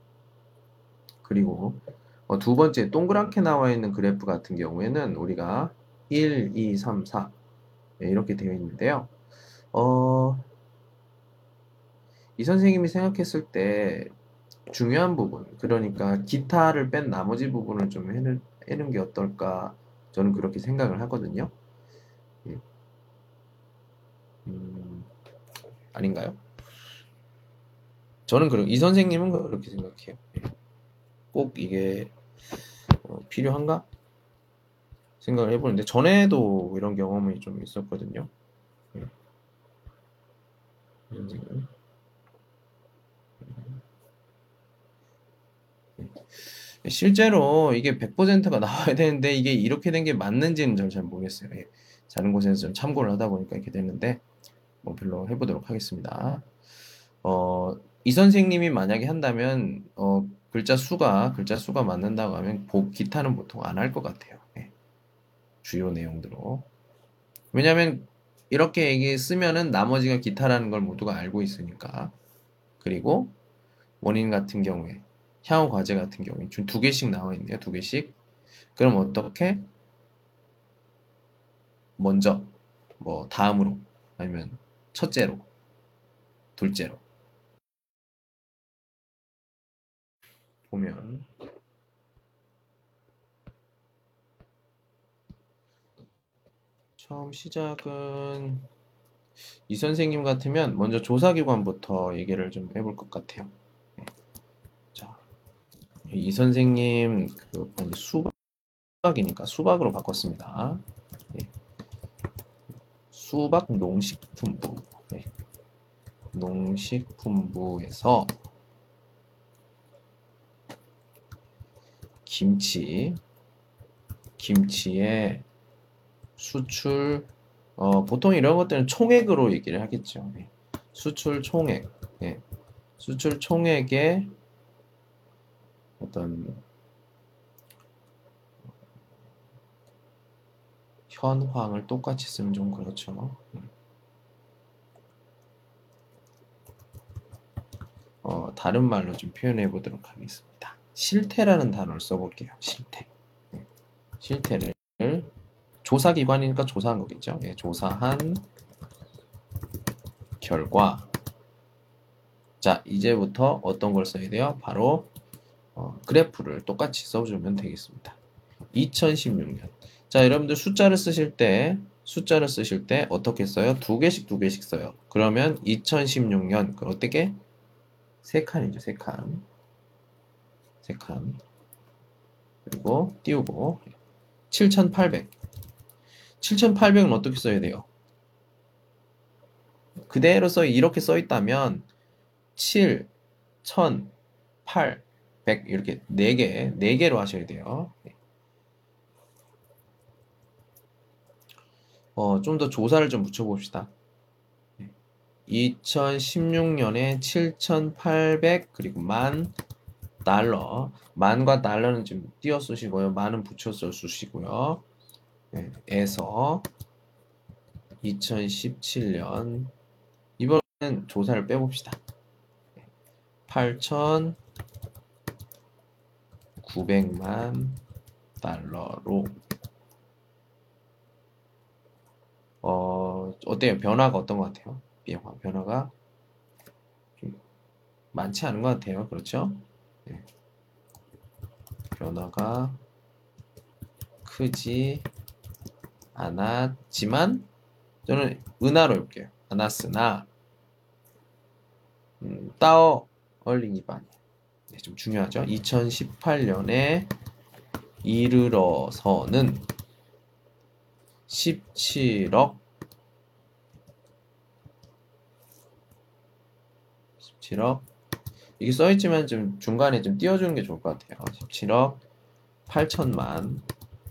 Speaker 1: 그리고 어, 두 번째 동그랗게 나와 있는 그래프 같은 경우에는 우리가 일, 이, 삼, 사 네, 이렇게 되어 있는데요. 어, 이 선생님이 생각했을 때 중요한 부분, 그러니까 기타를 뺀 나머지 부분을 좀 해는, 해는 게 어떨까 저는 그렇게 생각을 하거든요. 예. 음, 아닌가요? 저는 그렇, 이 선생님은 그렇게 생각해요. 예. 꼭 이게 어, 필요한가? 생각을 해보는데 전에도 이런 경험이 좀 있었거든요. 예. 이 선생님. 예. 실제로 이게 백 퍼센트가 나와야 되는데 이게 이렇게 된 게 맞는지는 저는 잘 모르겠어요. 예. 다른 곳에서 좀 참고를 하다 보니까 이렇게 됐는데 뭐 별로 해보도록 하겠습니다. 어, 이 선생님이 만약에 한다면 어, 글자 수가 글자 수가 맞는다고 하면 보, 기타는 보통 안 할 것 같아요. 예. 주요 내용들로. 왜냐하면 이렇게 얘기 쓰면은 나머지가 기타라는 걸 모두가 알고 있으니까. 그리고 원인 같은 경우에 향후 과제 같은 경우에 지금 두 개씩 나와 있네요. 두 개씩. 그럼 어떻게 먼저 뭐 다음으로 아니면 첫째로 둘째로 보면 처음 시작은 이 선생님 같으면 먼저 조사기관부터 얘기를 좀 해볼 것 같아요. 네. 자, 이 선생님 그 수박이니까 수박으로 바꿨습니다. 네. 수박 농식품부, 네. 농식품부에서 김치, 김치의 수출 어, 보통 이런 것들은 총액으로 얘기를 하겠죠. 예. 수출 총액, 예. 수출 총액의 어떤 현황을 똑같이 쓰면 좀 그렇죠. 어, 다른 말로 좀 표현해 보도록 하겠습니다. 실태라는 단어를 써볼게요. 실태. 예. 실태를 조사기관이니까 조사한 거겠죠. 예, 조사한 결과. 자, 이제부터 어떤 걸 써야 돼요? 바로 어, 그래프를 똑같이 써주면 되겠습니다. 이천십육 년. 자, 여러분들 숫자를 쓰실 때 숫자를 쓰실 때 어떻게 써요? 두 개씩 두 개씩 써요. 그러면 이천십육 년 그 어떻게? 세 칸이죠. 세 칸. 세 칸. 그리고 띄우고 칠천팔백. 칠천팔백은 어떻게 써야 돼요? 그대로 써 이렇게 써 있다면 칠, 천, 팔, 백 이렇게 네 개, 네 개로 하셔야 돼요. 어, 좀 더 조사를 좀 붙여봅시다. 이천십육 년에 칠천팔백 그리고 만 달러. 만과 달러는 좀 띄어 쓰시고요. 만은 붙여서 쓰시고요. 네, 에서 이천십칠 년 이번엔 조사를 빼봅시다. 팔천구백만 달러로 어, 어때요? 변화가 어떤 것 같아요? 변화, 변화가 좀 많지 않은 것 같아요. 그렇죠? 네. 변화가 크지 않았지만 저는 은하로 해볼게요. 않았으나 음, 따어 얼링이반 네, 좀 중요하죠. 이천십팔 년에 이르러서는 십칠억 십칠억 이게 써있지만 좀 중간에 좀 띄워주는 게 좋을 것 같아요. 십칠억 팔천만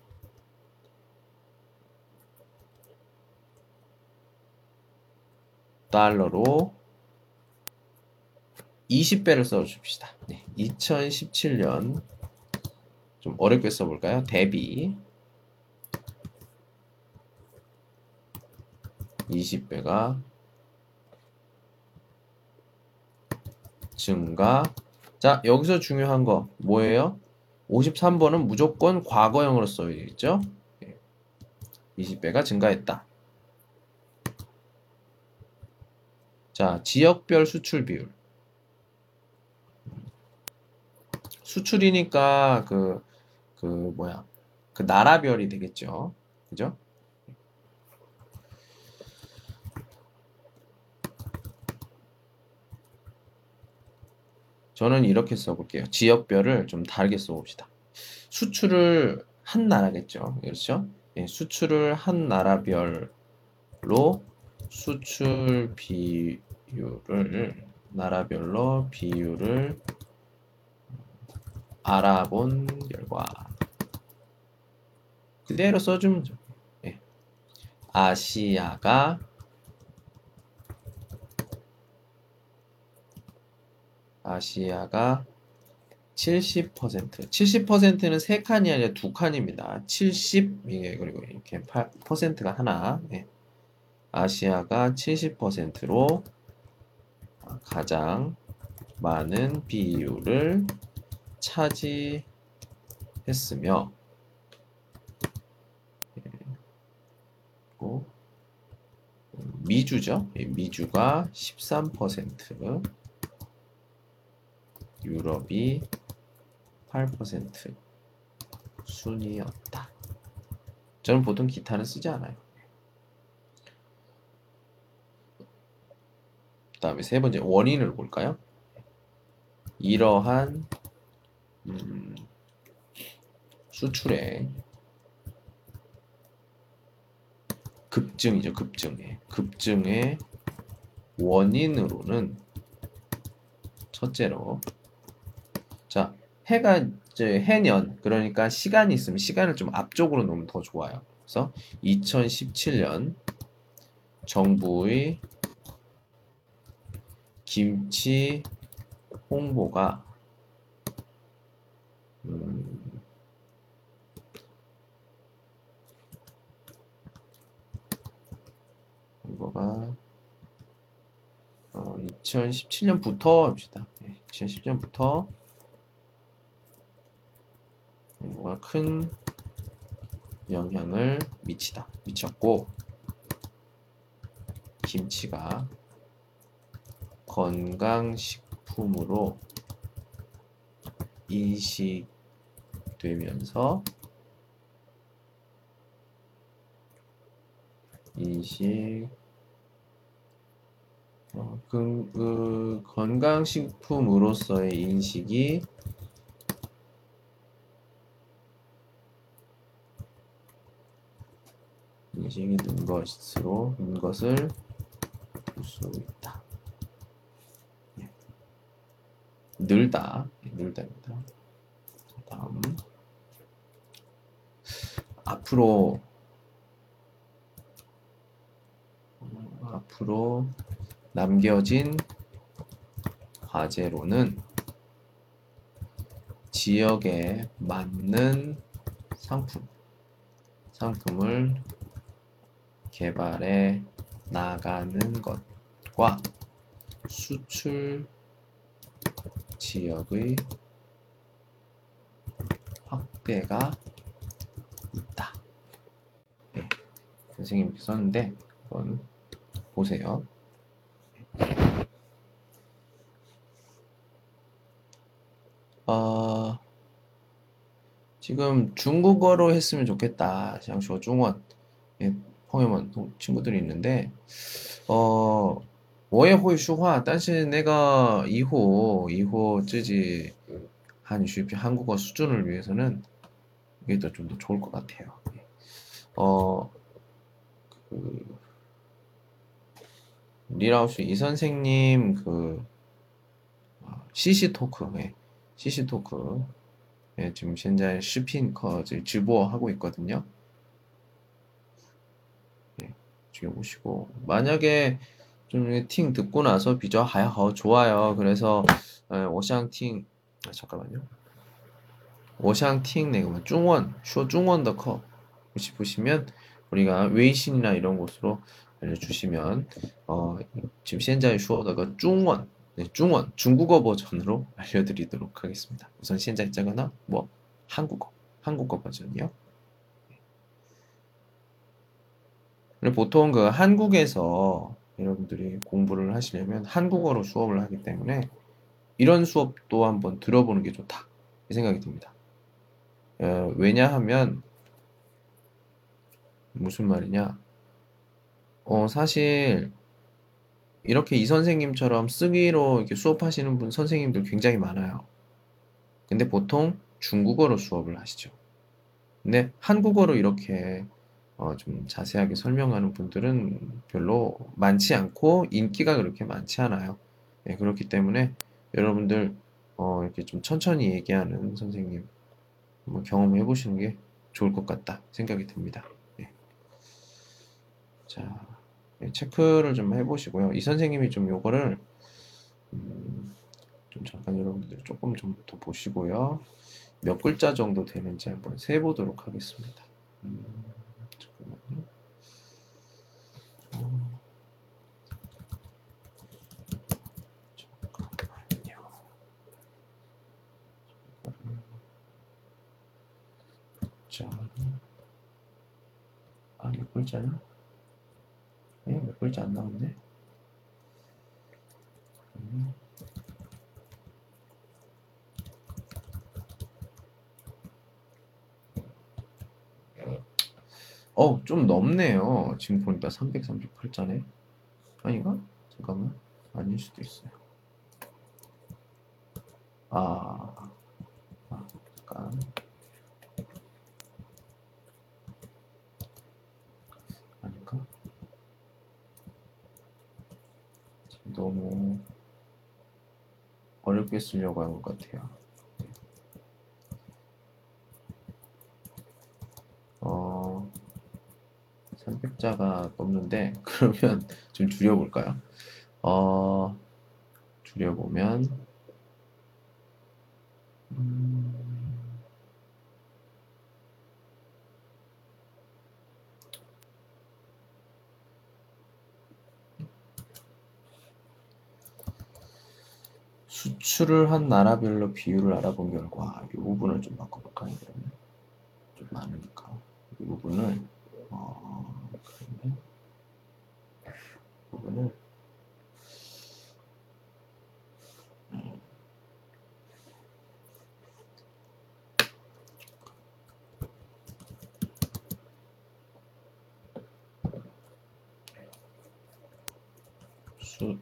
Speaker 1: 달러로 이십 배를 써줍시다. 네, 이천십칠 년 좀 어렵게 써볼까요? 대비 이십 배가 증가. 자, 여기서 중요한 거 뭐예요? 오십삼 번은 무조건 과거형으로 써야겠죠? 이십 배가 증가했다. 자, 지역별 수출 비율. 수출이니까 그, 그 뭐야, 그 나라별이 되겠죠. 그죠? 저는 이렇게 써볼게요. 지역별을 좀 다르게 써봅시다. 수출을 한 나라겠죠. 그렇죠? 예, 수출을 한 나라별로 수출 비율을 나라별로 비율을 알아본 결과 그대로 써주면 죠. 예. 아시아가 아시아가 칠십 퍼센트 칠십 퍼센트는 세 칸이 아니라 두 칸입니다. 칠십 이게 그리고 이렇게 팔 퍼센트가 하나. 예. 아시아가 칠십 퍼센트로 가장 많은 비율을 차지했으며 그리고 미주죠. 미주가 십삼 퍼센트 유럽이 팔 퍼센트 순이었다. 저는 보통 기타는 쓰지 않아요. 그 다음에 세 번째 원인을 볼까요? 이러한 음, 수출의 급증이죠. 급증의 급증의 원인으로는 첫째로 자 해가 이제 해년 그러니까 시간이 있으면 시간을 좀 앞쪽으로 놓으면 더 좋아요. 그래서 이천십칠 년 정부의 김치 홍보가 음, 홍보가 어, 이천십칠 년부터 합시다. 네, 이천십칠 년부터 홍보가 큰 영향을 미치다 미쳤고 김치가 건강식품으로 인식되면서 인식 어, 그, 그 건강식품으로서의 인식이 인식이 는 것으로 는 것을 볼 수 있다. 예. 늘다 예, 늘다입니다. 다음 앞으로 어, 앞으로 남겨진 과제로는 지역에 맞는 상품 상품을 개발해 나가는 것과 수출 지역의 확대가 있다. 네, 선생님이 썼는데 한번 보세요. 어, 지금 중국어로 했으면 좋겠다. 想说中文 예, 朋友们 친구들이 있는데 어, 我也会说话但是那个以后以后自己한슈 한국어 수준을 위해서는 이게 더 좀 더 좋을 것 같아요. 어, 그 리라우스 이 선생님 그 시시 토크, 예, 시시 토크 예, 지금 현재视频课 直播 하고 있거든요. 예, 지금 보시고 만약에 좀 팅 듣고 나서 비저 하여 좋아요. 그래서 예, 我想听 아, 잠깐만요. 我想听那个 중원, 说中文的课 싶으시면 우리가 웨이신이나 이런 곳으로 알려주시면 어, 지금 현재 说的个 중원, 네, 중원, 중국어 버전으로 알려드리도록 하겠습니다. 우선 현재 있자거나 뭐 한국어, 한국어 버전이요. 근데 보통 그 한국에서 여러분들이 공부를 하시려면 한국어로 수업을 하기 때문에 이런 수업도 한번 들어보는 게 좋다 이 생각이 듭니다. 어, 왜냐하면 무슨 말이냐? 어, 사실 이렇게 이 선생님처럼 쓰기로 이렇게 수업하시는 분 선생님들 굉장히 많아요. 근데 보통 중국어로 수업을 하시죠. 근데 한국어로 이렇게 어, 좀 자세하게 설명하는 분들은 별로 많지 않고 인기가 그렇게 많지 않아요. 네, 그렇기 때문에 여러분들 어, 이렇게 좀 천천히 얘기하는 선생님 한번 경험해 보시는 게 좋을 것 같다 생각이 듭니다. 네. 자, 네, 체크를 좀 해보시고요. 이 선생님이 좀 요거를 음, 좀 잠깐 여러분들 조금 좀 더 보시고요. 몇 글자 정도 되는지 한번 세보도록 하겠습니다. 음, 잠깐만요. 어, 잠깐만요. 자, 아, 몇 글자냐? 예, 몇 글자 안 나오네. 음. 어, 좀 넘네요. 지금 보니까 삼백삼십팔 자네. 아닌가? 잠깐만. 아닐 수도 있어요. 아, 아 잠깐. 아닌가? 지금 너무 어렵게 쓰려고 한 것 같아요. 어, 삼백 숫자가 없는데 그러면 좀 줄여볼까요? 어, 줄여보면 음, 수출을 한 나라별로 비율을 알아본 결과 이 부분을 좀 바꿔볼까요? 그러면 좀 많으니까 이 부분을 어, 그러면 이 부분을 수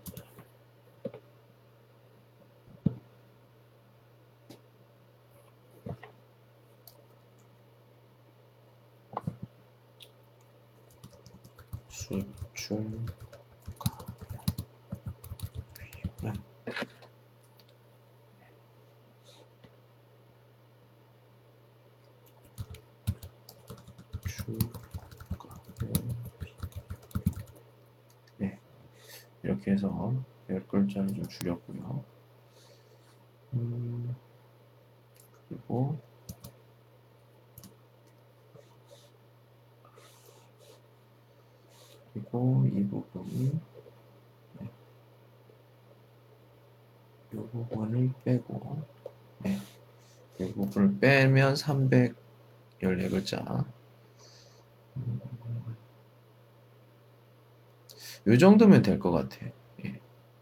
Speaker 1: 수출 네, 이렇게 해서 열 글자를 좀 줄였고요. 음, 그리고 그리고 이 부분이 네, 이 부분을 빼고 네, 이 부분을 빼면 삼백십사 글자 음, 이 정도면 될 것 같아. 예.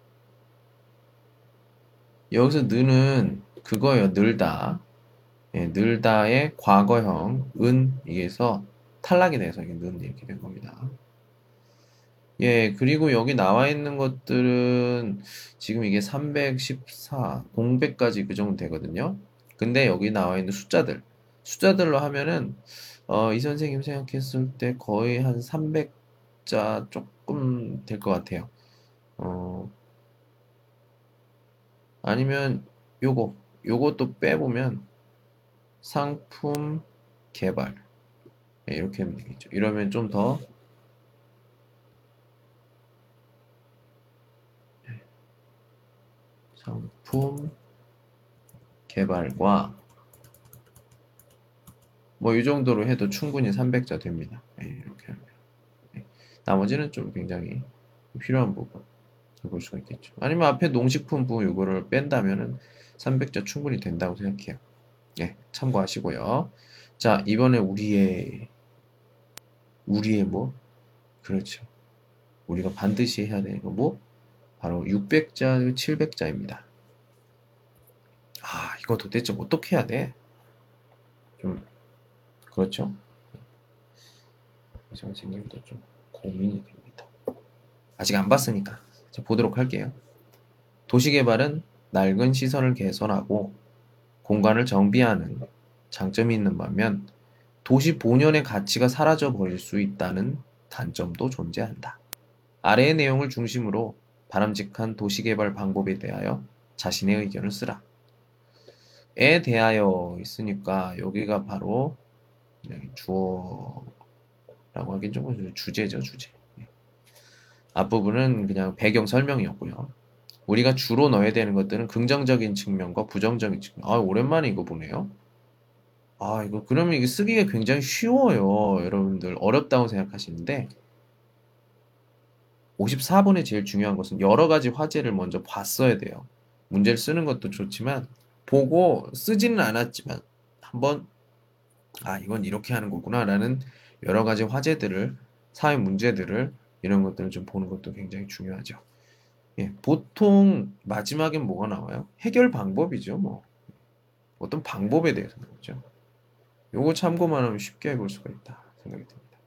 Speaker 1: 여기서 느는 그거예요. 늘다. 예, 늘다의 과거형 은 이게서 탈락이 돼서 이게 는 이렇게 된 겁니다. 예, 그리고 여기 나와 있는 것들은 지금 이게 삼백십사, 공백까지 그 정도 되거든요. 근데 여기 나와 있는 숫자들, 숫자들로 하면은 어, 이 선생님 생각했을 때 거의 한 삼백 자 조금 될 것 같아요. 어, 아니면 요거, 요것도 빼보면 상품 개발. 예, 이렇게 하면 되겠죠. 이러면 좀 더 상품 개발과 뭐 이 정도로 해도 충분히 삼백 자 됩니다. 예, 이렇게 하면. 예. 나머지는 좀 굉장히 필요한 부분 볼 수가 있겠죠. 아니면 앞에 농식품부 이거를 뺀다면은 삼백 자 충분히 된다고 생각해요. 예, 참고하시고요. 자, 이번에 우리의 우리의 뭐? 그렇죠. 우리가 반드시 해야 되는 거 뭐? 바로 육백 자, 칠백 자입니다. 아, 이거 도대체 어떻게 해야 돼? 좀 그렇죠. 선생님도 좀 고민이 됩니다. 아직 안 봤으니까 자, 보도록 할게요. 도시개발은 낡은 시설을 개선하고 공간을 정비하는 장점이 있는 반면 도시 본연의 가치가 사라져 버릴 수 있다는 단점도 존재한다. 아래의 내용을 중심으로 바람직한 도시개발 방법에 대하여 자신의 의견을 쓰라. 에 대하여 있으니까 여기가 바로 주어라고 하긴 좀 주제죠, 주제. 앞부분은 그냥 배경 설명이었고요. 우리가 주로 넣어야 되는 것들은 긍정적인 측면과 부정적인 측면. 아, 오랜만에 이거 보네요. 아, 이거 그러면 이게 쓰기가 굉장히 쉬워요. 여러분들 어렵다고 생각하시는데 오십사 번에 제일 중요한 것은 여러 가지 화제를 먼저 봤어야 돼요. 문제를 쓰는 것도 좋지만 보고 쓰지는 않았지만 한번 아, 이건 이렇게 하는 거구나라는 여러 가지 화제들을 사회 문제들을 이런 것들을 좀 보는 것도 굉장히 중요하죠. 예, 보통 마지막엔 뭐가 나와요? 해결 방법이죠, 뭐. 어떤 방법에 대해서 나오죠. 요거 참고만 하면 쉽게 해볼 수가 있다 생각이 듭니다.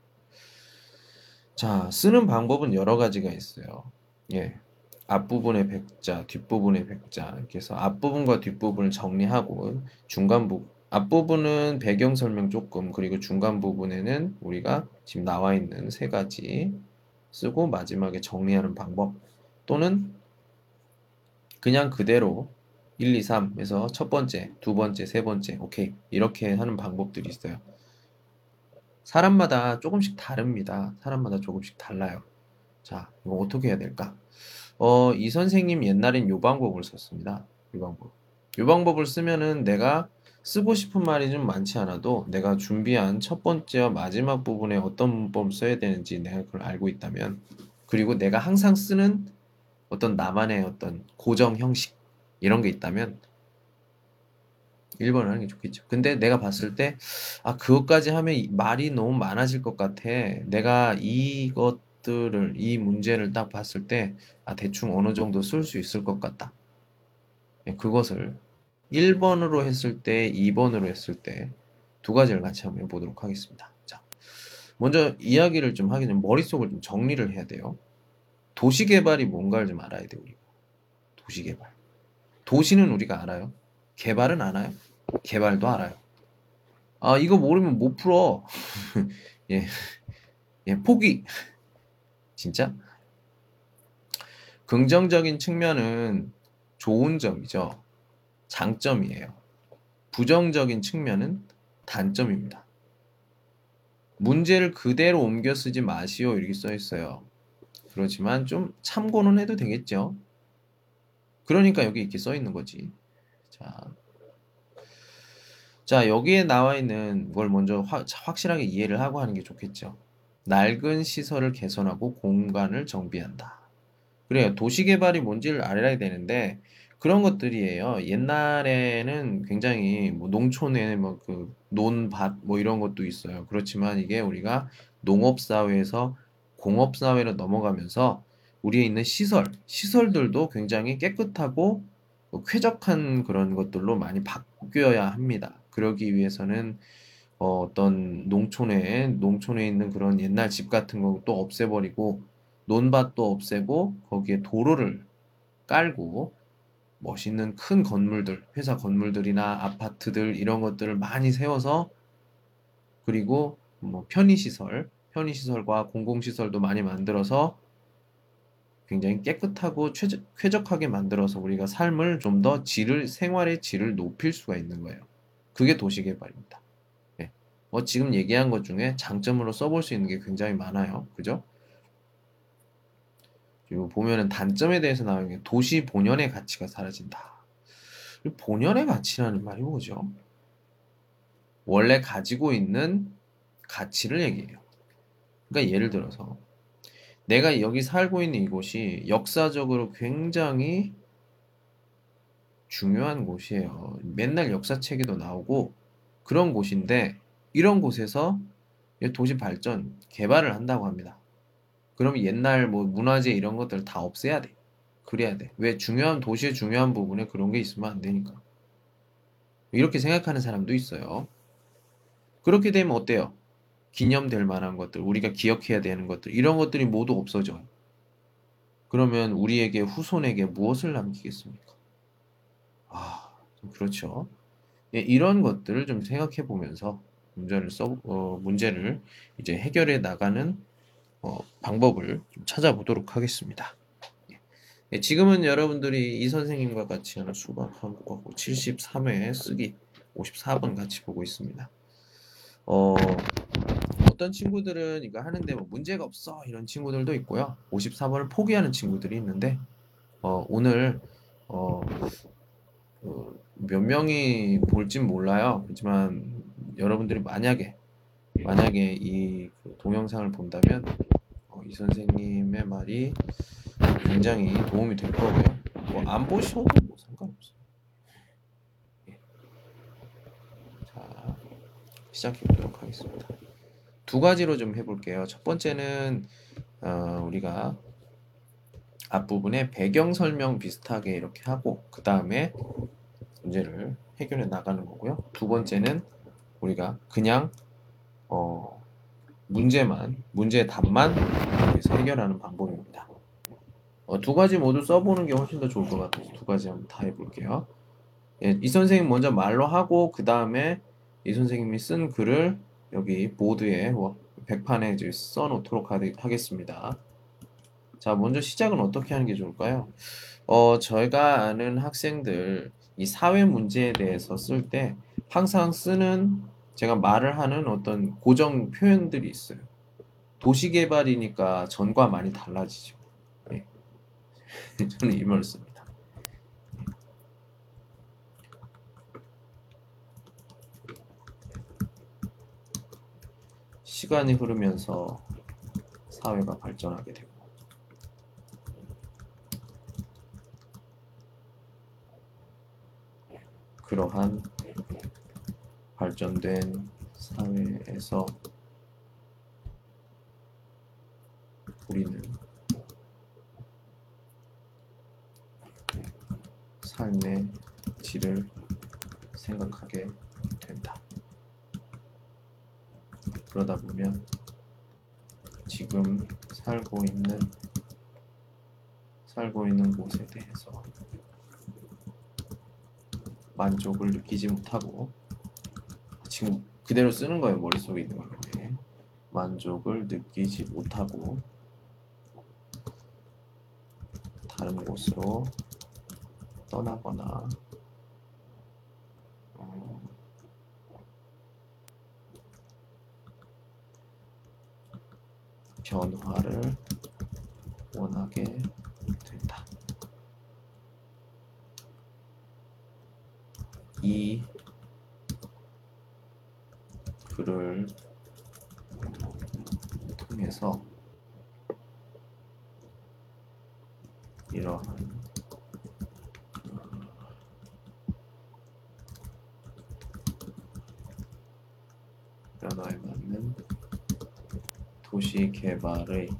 Speaker 1: 자, 쓰는 방법은 여러 가지가 있어요. 예, 앞부분의 백자, 뒷부분의 백자 이렇게 해서 앞부분과 뒷부분을 정리하고 중간 부분 앞부분은 배경 설명 조금 그리고 중간 부분에는 우리가 지금 나와 있는 세 가지 쓰고 마지막에 정리하는 방법 또는 그냥 그대로 일, 이, 삼에서 첫 번째, 두 번째, 세 번째 오케이 이렇게 하는 방법들이 있어요. 사람마다 조금씩 다릅니다. 사람마다 조금씩 달라요. 자, 이거 어떻게 해야 될까? 어, 이 선생님 옛날엔 요 방법을 썼습니다. 요 방법. 요 방법을 쓰면은 내가 쓰고 싶은 말이 좀 많지 않아도 내가 준비한 첫 번째와 마지막 부분에 어떤 문법을 써야 되는지 내가 그걸 알고 있다면, 그리고 내가 항상 쓰는 어떤 나만의 어떤 고정 형식 이런 게 있다면 일 번을 하는 게 좋겠죠. 근데 내가 봤을 때, 아, 그것까지 하면 이- 말이 너무 많아질 것 같아. 내가 이것들을, 이 문제를 딱 봤을 때, 아, 대충 어느 정도 쓸 수 있을 것 같다. 예, 그것을 일 번으로 했을 때, 이 번으로 했을 때, 두 가지를 같이 한번 해보도록 하겠습니다. 자, 먼저 이야기를 좀 하기 전에 머릿속을 좀 정리를 해야 돼요. 도시개발이 뭔가를 좀 알아야 돼요, 우리가. 도시개발. 도시는 우리가 알아요. 개발은 알아요. 개발도 알아요. 아, 이거 모르면 못 풀어. 예, 예, 포기. 진짜? 긍정적인 측면은 좋은 점이죠. 장점이에요. 부정적인 측면은 단점입니다. 문제를 그대로 옮겨 쓰지 마시오. 이렇게 써 있어요. 그렇지만 좀 참고는 해도 되겠죠. 그러니까 여기 이렇게 써 있는 거지. 자, 자, 여기에 나와 있는 걸 먼저 화- 확실하게 이해를 하고 하는 게 좋겠죠. 낡은 시설을 개선하고 공간을 정비한다. 그래요. 도시개발이 뭔지를 알아야 되는데 그런 것들이에요. 옛날에는 굉장히 뭐 농촌에 뭐 그 논밭 뭐 이런 것도 있어요. 그렇지만 이게 우리가 농업사회에서 공업사회로 넘어가면서 우리에 있는 시설, 시설들도 굉장히 깨끗하고 뭐 쾌적한 그런 것들로 많이 바뀌어야 합니다. 그러기 위해서는 어, 어떤 농촌에 농촌에 있는 그런 옛날 집 같은 것도 없애버리고 논밭도 없애고 거기에 도로를 깔고 멋있는 큰 건물들, 회사 건물들이나 아파트들 이런 것들을 많이 세워서, 그리고 뭐 편의시설, 편의시설과 공공시설도 많이 만들어서 굉장히 깨끗하고 최적, 쾌적하게 만들어서 우리가 삶을 좀 더 질을, 생활의 질을 높일 수가 있는 거예요. 그게 도시개발입니다. 예. 뭐 지금 얘기한 것 중에 장점으로 써볼 수 있는 게 굉장히 많아요. 그죠? 그리고 보면은 단점에 대해서 나오는 게 도시 본연의 가치가 사라진다. 이 본연의 가치라는 말이 뭐죠? 원래 가지고 있는 가치를 얘기해요. 그러니까 예를 들어서 내가 여기 살고 있는 이곳이 역사적으로 굉장히 중요한 곳이에요. 맨날 역사책에도 나오고 그런 곳인데 이런 곳에서 도시 발전, 개발을 한다고 합니다. 그럼 옛날 뭐 문화재 이런 것들 다 없애야 돼. 그래야 돼. 왜? 중요한 도시의 중요한 부분에 그런 게 있으면 안 되니까. 이렇게 생각하는 사람도 있어요. 그렇게 되면 어때요? 기념될 만한 것들, 우리가 기억해야 되는 것들, 이런 것들이 모두 없어져요. 그러면 우리에게 후손에게 무엇을 남기겠습니까? 아, 좀 그렇죠. 예, 이런 것들을 좀 생각해 보면서 문제를 써, 어, 문제를 이제 해결해 나가는 어, 방법을 좀 찾아보도록 하겠습니다. 예, 지금은 여러분들이 이 선생님과 같이 하는 수학 한국어 칠십삼 회 쓰기 오십사 번 같이 보고 있습니다. 어, 어떤 친구들은 이거 하는데 뭐 문제가 없어 이런 친구들도 있고요. 오십사 번을 포기하는 친구들이 있는데 어, 오늘 어, 그 몇 명이 볼진 몰라요. 그렇지만 여러분들이 만약에 만약에 이그 동영상을 본다면 어, 이 선생님의 말이 굉장히 도움이 될 거고요. 뭐 안 보셔도 뭐 상관없어요. 예. 자, 시작해 보도록 하겠습니다. 두 가지로 좀 해볼게요. 첫 번째는 어, 우리가 앞부분에 배경 설명 비슷하게 이렇게 하고 그 다음에 문제를 해결해 나가는 거고요. 두 번째는 우리가 그냥 어, 문제만 문제 답만 여기서 해결하는 방법입니다. 어, 두 가지 모두 써보는 게 훨씬 더 좋을 것 같아서 두 가지 한번 다 해볼게요. 예, 이 선생님 먼저 말로 하고 그 다음에 이 선생님이 쓴 글을 여기 보드에 백판에 이제 써놓도록 하겠습니다. 자, 먼저 시작은 어떻게 하는 게 좋을까요? 어, 저희가 아는 학생들 이 사회 문제에 대해서 쓸 때 항상 쓰는 제가 말을 하는 어떤 고정 표현들이 있어요. 도시개발이니까 전과 많이 달라지죠. 예. 저는 이 말을 씁니다. 시간이 흐르면서 사회가 발전하게 되고 그러한 발전된 사회에서 우리는 삶의 질을 생각하게 된다. 그러다 보면 지금 살고 있는 살고 있는 곳에 대해서 만족을 느끼지 못하고 지금 그대로 쓰는 거예요. 머릿속에 있는 걸로. 예. 만족을 느끼지 못하고 다른 곳으로 떠나거나 어, 변화를 원하게 된다. 이 글을 통해서 이러한 변화에 맞는 도시 개발의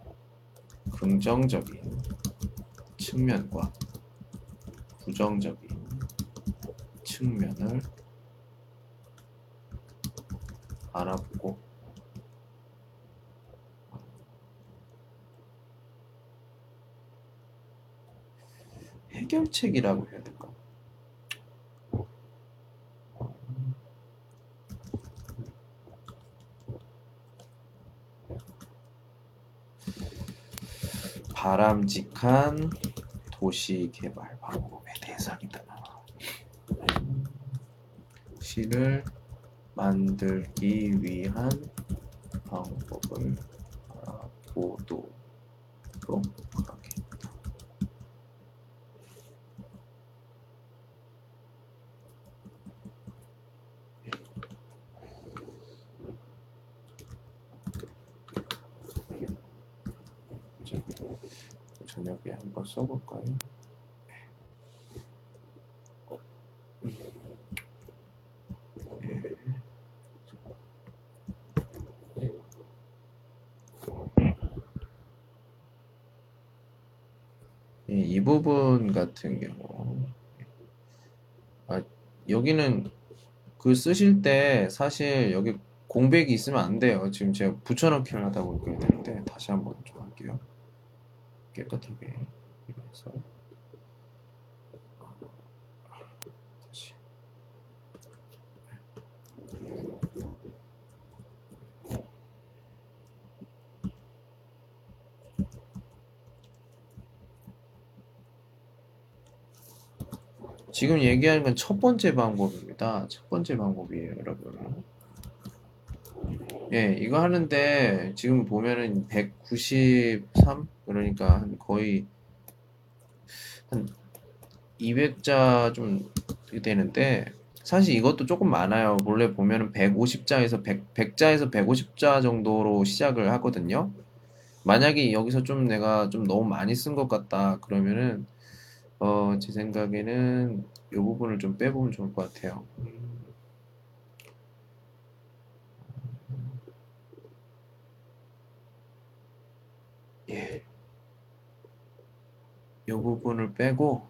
Speaker 1: 긍정적인 측면과 부정적인 측면을 알아보고 해결책이라고 해야 될까? 바람직한 도시 개발 방법에 대해서입니다. 시를 만들기 위한 방법을 알아보도록 하겠다. 저녁에 한번 써볼까요? 이 부분 같은 경우 아, 여기는 글 쓰실 때 사실 여기 공백이 있으면 안 돼요. 지금 제가 붙여넣기를 하다 보니까 이렇게 되는데 다시 한번 좀 할게요. 깨끗하게 해서 다시 지금 얘기하는 건 첫 번째 방법입니다. 첫 번째 방법이에요, 여러분. 예, 이거 하는데 지금 보면은 백구십삼 그러니까 한 거의 한 이백 자 좀 되는데 사실 이것도 조금 많아요. 원래 보면은 백오십 자에서 백, 백 자에서 백오십 자 정도로 시작을 하거든요. 만약에 여기서 좀 내가 좀 너무 많이 쓴 것 같다 그러면은 어, 제 생각에는 이 부분을 좀 빼보면 좋을 것 같아요. 예, 이 부분을 빼고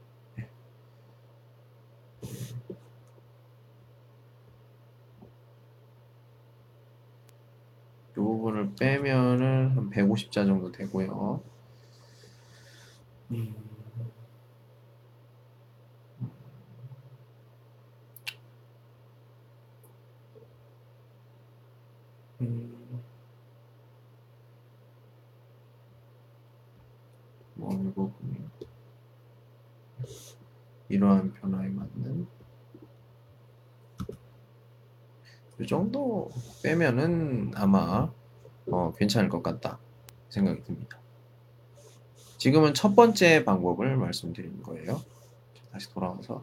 Speaker 1: 이 부분을 빼면은 한 백오십 자 정도 되고요. 음, 음, 뭐이 부분이 이러한 변화에 맞는 이 정도 빼면은 아마 어, 괜찮을 것 같다 생각이 듭니다. 지금은 첫 번째 방법을 말씀드리는 거예요. 다시 돌아와서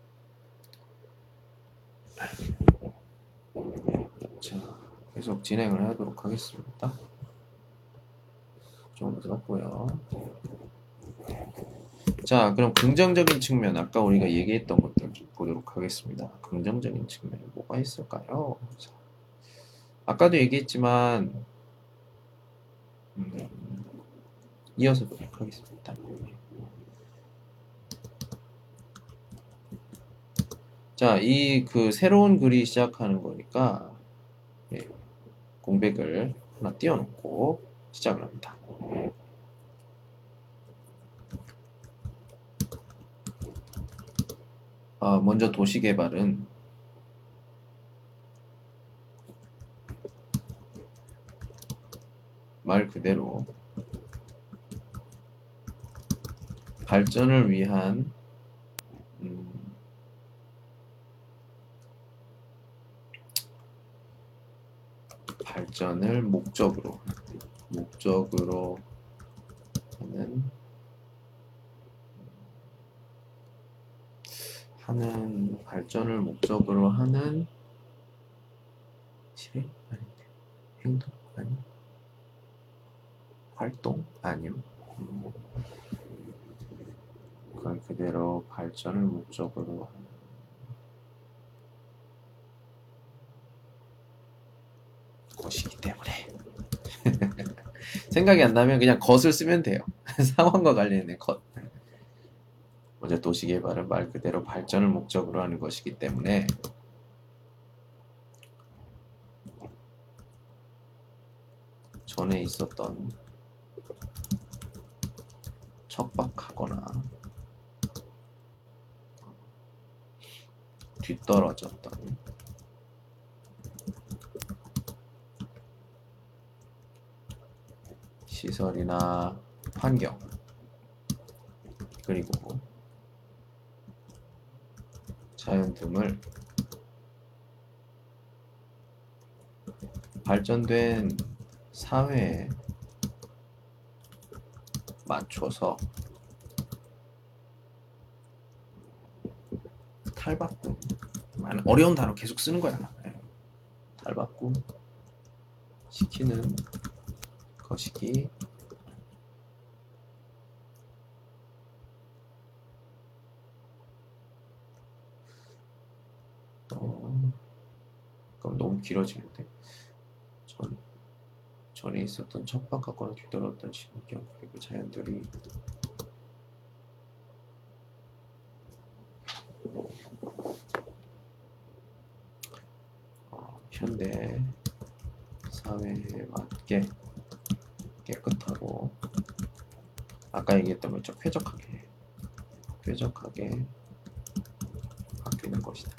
Speaker 1: 자, 계속 진행을 하도록 하겠습니다. 좀 들었고요. 자, 그럼 긍정적인 측면, 아까 우리가 얘기했던 것들 좀 보도록 하겠습니다. 긍정적인 측면이 뭐가 있을까요? 자, 아까도 얘기했지만 음, 이어서 보도록 하겠습니다. 자, 이 그 새로운 글이 시작하는 거니까 예, 공백을 하나 띄워놓고 시작을 합니다. 어, 먼저 도시개발은 말 그대로 발전을 위한 음, 발전을 목적으로 목적으로 하는 하는 발전을 목적으로 하는 실행 아닌데 행동 아니 활동 아니요. 음, 그걸 그대로 발전을 목적으로 하는 것이기 때문에 생각이 안 나면 그냥 것을 쓰면 돼요. 상황과 관련된 것. 먼저 도시개발은 말 그대로 발전을 목적으로 하는 것이기 때문에 전에 있었던 척박하거나 뒤떨어졌던 시설이나 환경 그리고 자연 등을 발전된 사회에 맞춰서 탈바꿈 어려운 단어 계속 쓰는 거야. 탈바꿈 시키는 것이기 어, 그럼 너무 길어지는데 전, 전에 있었던 척박하거나 뒤떨어졌던 신경 그리고 자연들이 어, 현대 사회에 맞게 깨끗하고 아까 얘기했던 것처럼 쾌적하게 쾌적하게 바뀌는 것이다.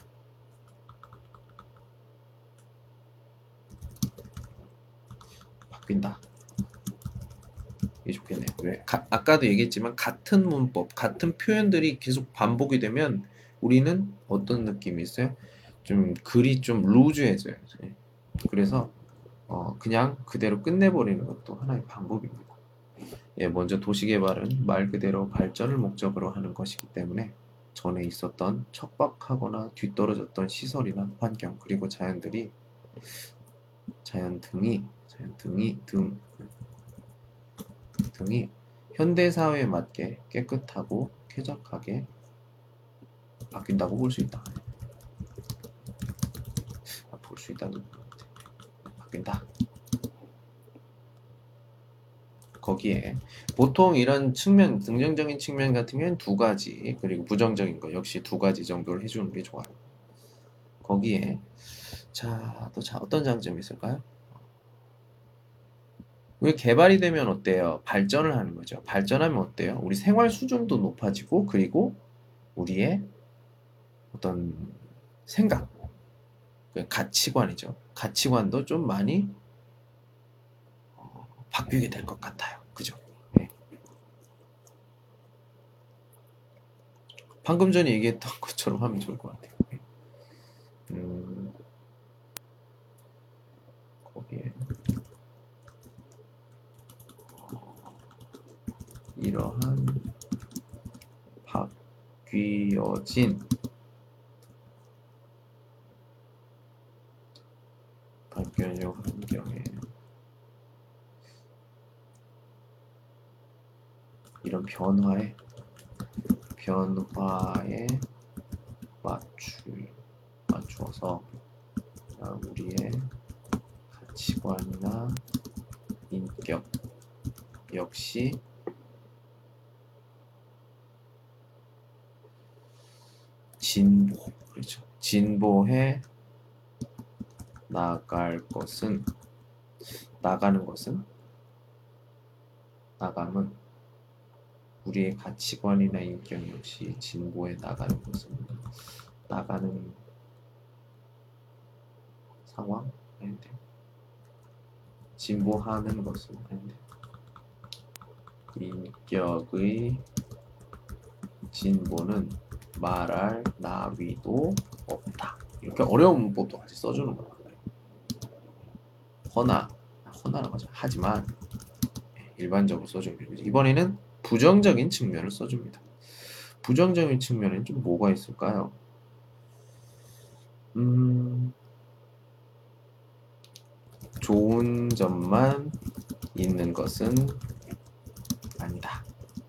Speaker 1: 바뀐다. 이게 좋겠네요. 왜? 가, 아까도 얘기했지만 같은 문법, 같은 표현들이 계속 반복이 되면 우리는 어떤 느낌이 있어요? 좀 글이 좀 루즈해져요. 그래서 어, 그냥 그대로 끝내버리는 것도 하나의 방법입니다. 예, 먼저 도시개발은 말 그대로 발전을 목적으로 하는 것이기 때문에 전에 있었던 척박하거나 뒤떨어졌던 시설이나 환경 그리고 자연들이 자연 등이 자연 등이 등 등이 현대 사회에 맞게 깨끗하고 쾌적하게 바뀐다고 볼 수 있다. 아, 볼 수 있다는 바뀐다. 거기에 보통 이런 측면, 긍정적인 측면 같은 경우는 두 가지, 그리고 부정적인 거 역시 두 가지 정도를 해주는 게 좋아요. 거기에 자, 또 자, 어떤 장점이 있을까요? 우리 개발이 되면 어때요? 발전을 하는 거죠. 발전하면 어때요? 우리 생활 수준도 높아지고, 그리고 우리의 어떤 생각, 그 가치관이죠. 가치관도 좀 많이 어, 바뀌게 될 것 같아요. 그죠? 네. 방금 전에 얘기했던 것처럼 하면 좋을 것 같아요. 음, 이러한 바뀌어진 바뀌어진 환경에 이런 변화에 변화에 맞추 맞추어서 우리의 가치관이나 인격 역시 진보, 그렇죠. 진보해 나갈 것은 나가는 것은 나감은 우리의 가치관이나 인격 역시 진보해 나가는 것은 나가는 상황 아닌데 진보하는 것은 아닌데 인격의 진보는 말할 나위도 없다. 이렇게 어려운 문법도 같이 써주는 거야. 허나 허나라고 하죠. 하지만 일반적으로 써줍니다. 이번에는 부정적인 측면을 써줍니다. 부정적인 측면에는 좀 뭐가 있을까요? 음, 좋은 점만 있는 것은 아니다.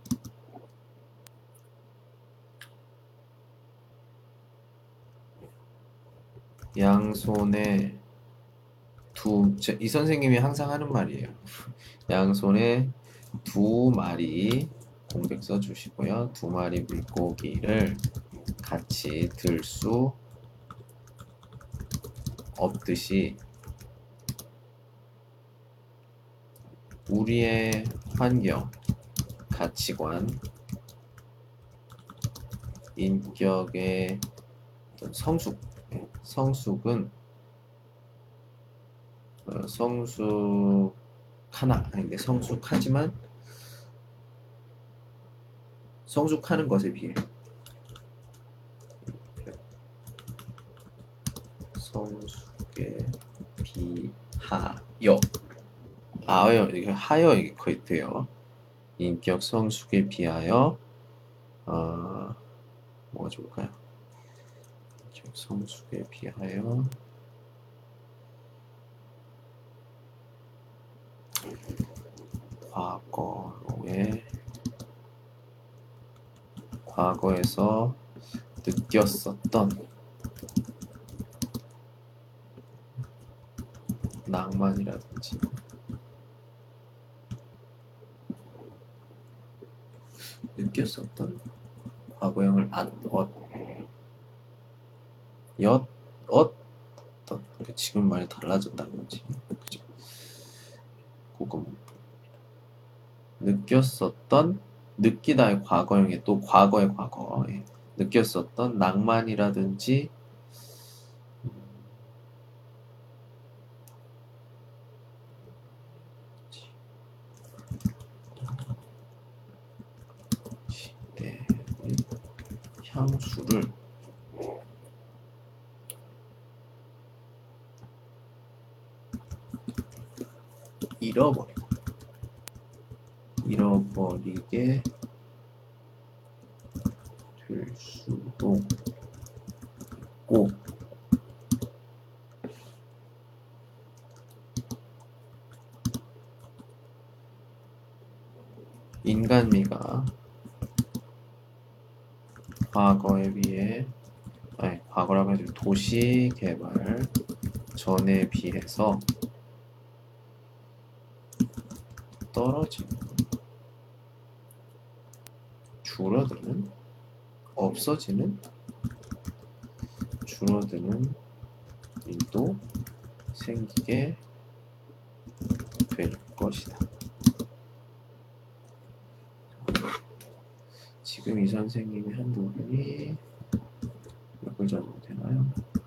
Speaker 1: 양손에 두, 이 선생님이 항상 하는 말이에요. 양손에 두 마리 공백 써주시고요. 두 마리 물고기를 같이 들 수 없듯이 우리의 환경, 가치관, 인격의 성숙, 성숙은 어, 성숙하나 아닌데 성숙하지만 성숙하는 것에 비해 성숙에 비하여 아여 이게 하여 이게 거의 돼요. 인격 성숙에 비하여 어, 뭐가 좋을까요? 인격 성숙에 비하여 과거에 과거에서 느꼈었던 낭만이라든지 느꼈었던 과거형을 안, 엇, 엿, 엇, 지금 많이 달라졌다는 거지. 그죠? 그거 느꼈었던 느끼다의 과거형에 또 과거의 과거에 느꼈었던 낭만이라든지 시대의 향수를 잃어버리고 잃어버리게 될 수도 있고 인간미가 과거에 비해 아니 과거라고 해도 도시 개발 전에 비해서 떨어지는 줄어드는 없어지는 줄어드는 일도 생기게 될 것이다. 지금 이 선생님이 한 부분이 몇 글자 정도 되나요?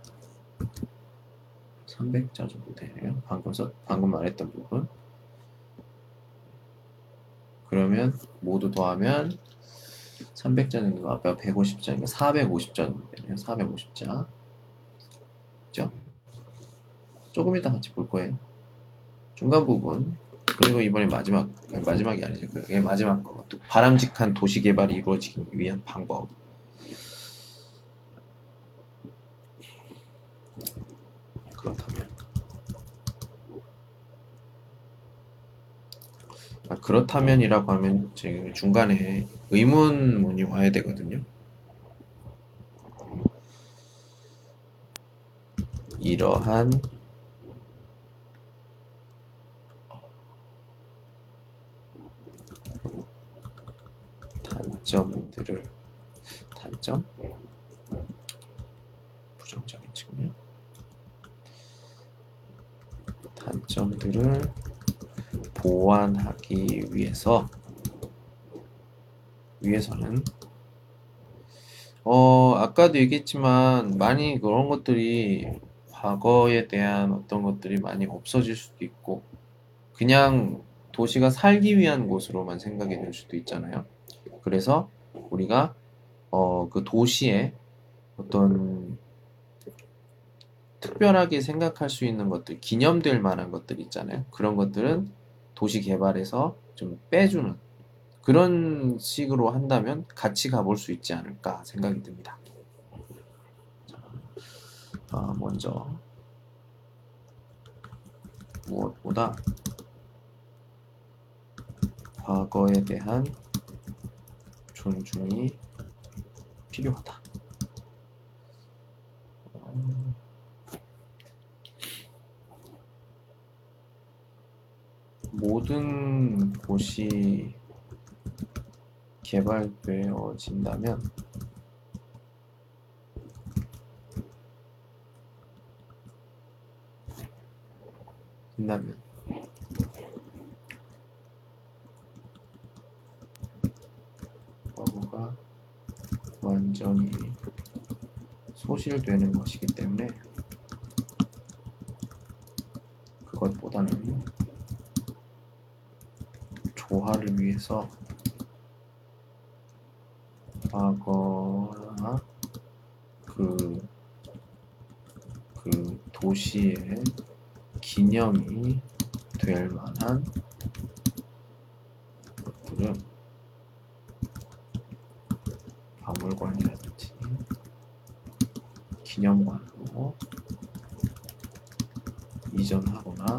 Speaker 1: 삼백 자 정도 되네요. 방금 써, 방금 말했던 부분. 그러면 모두 더하면 삼백 자 정도, 앞에 백오십 자니까 사백오십 자 정도 되네요. 사백오십 자. 그죠? 조금 이따 같이 볼 거예요. 중간 부분 그리고 이번에 마지막, 마지막이 아니죠. 그게 마지막 거. 또 바람직한 도시 개발이 이루어지기 위한 방법. 그렇다면. 아, 그렇다면이라고 하면 지금 중간에 의문문이 와야 되거든요. 이러한 단점들을 단점? 부정적인 측면. 단점들을 보완하기 위해서 위해서는 어 아까도 얘기했지만 많이 그런 것들이 과거에 대한 어떤 것들이 많이 없어질 수도 있고 그냥 도시가 살기 위한 곳으로만 생각이 될 수도 있잖아요. 그래서 우리가 어 그 도시에 어떤 특별하게 생각할 수 있는 것들, 기념될 만한 것들 있잖아요. 그런 것들은 도시 개발에서 좀 빼주는 그런 식으로 한다면 같이 가볼 수 있지 않을까 생각이 듭니다. 자, 어, 먼저 무엇보다 과거에 대한 존중이 필요하다. 모든 곳이 개발되어진다면 된다면 과거가 완전히 소실되는 것이기 때문에 그것보다는 조화를 위해서 과거나 그, 그 도시의 기념이 될 만한 것들은 박물관이라든지 기념관으로 이전하거나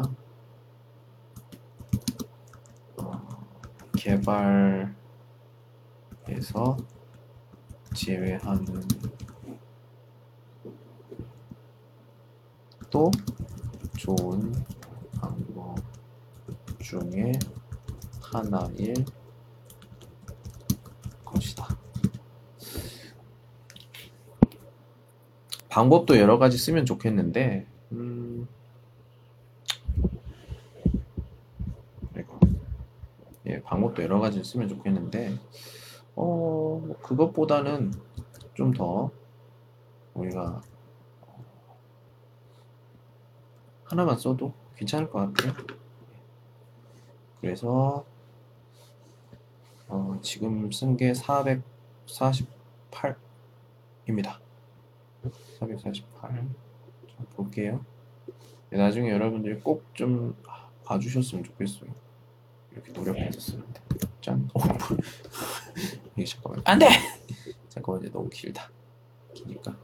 Speaker 1: 어, 개발에서 제외하는 또 좋은 방법 중에 하나일 것이다. 방법도 여러 가지 쓰면 좋겠는데, 음, 예, 방법도 여러 가지 쓰면 좋겠는데, 어, 그것보다는 좀 더 우리가 하나만 써도 괜찮을 것 같아요. 그래서 어, 지금 쓴 게 사백사십팔입니다. 사백사십팔. 자, 볼게요. 나중에 여러분들이 꼭 좀 봐주셨으면 좋겠어요. 이렇게 노력해서 쓰는데. 짠. 어, 이게 잠깐만. 안 돼! 잠깐만, 이제 너무 길다. 기니까.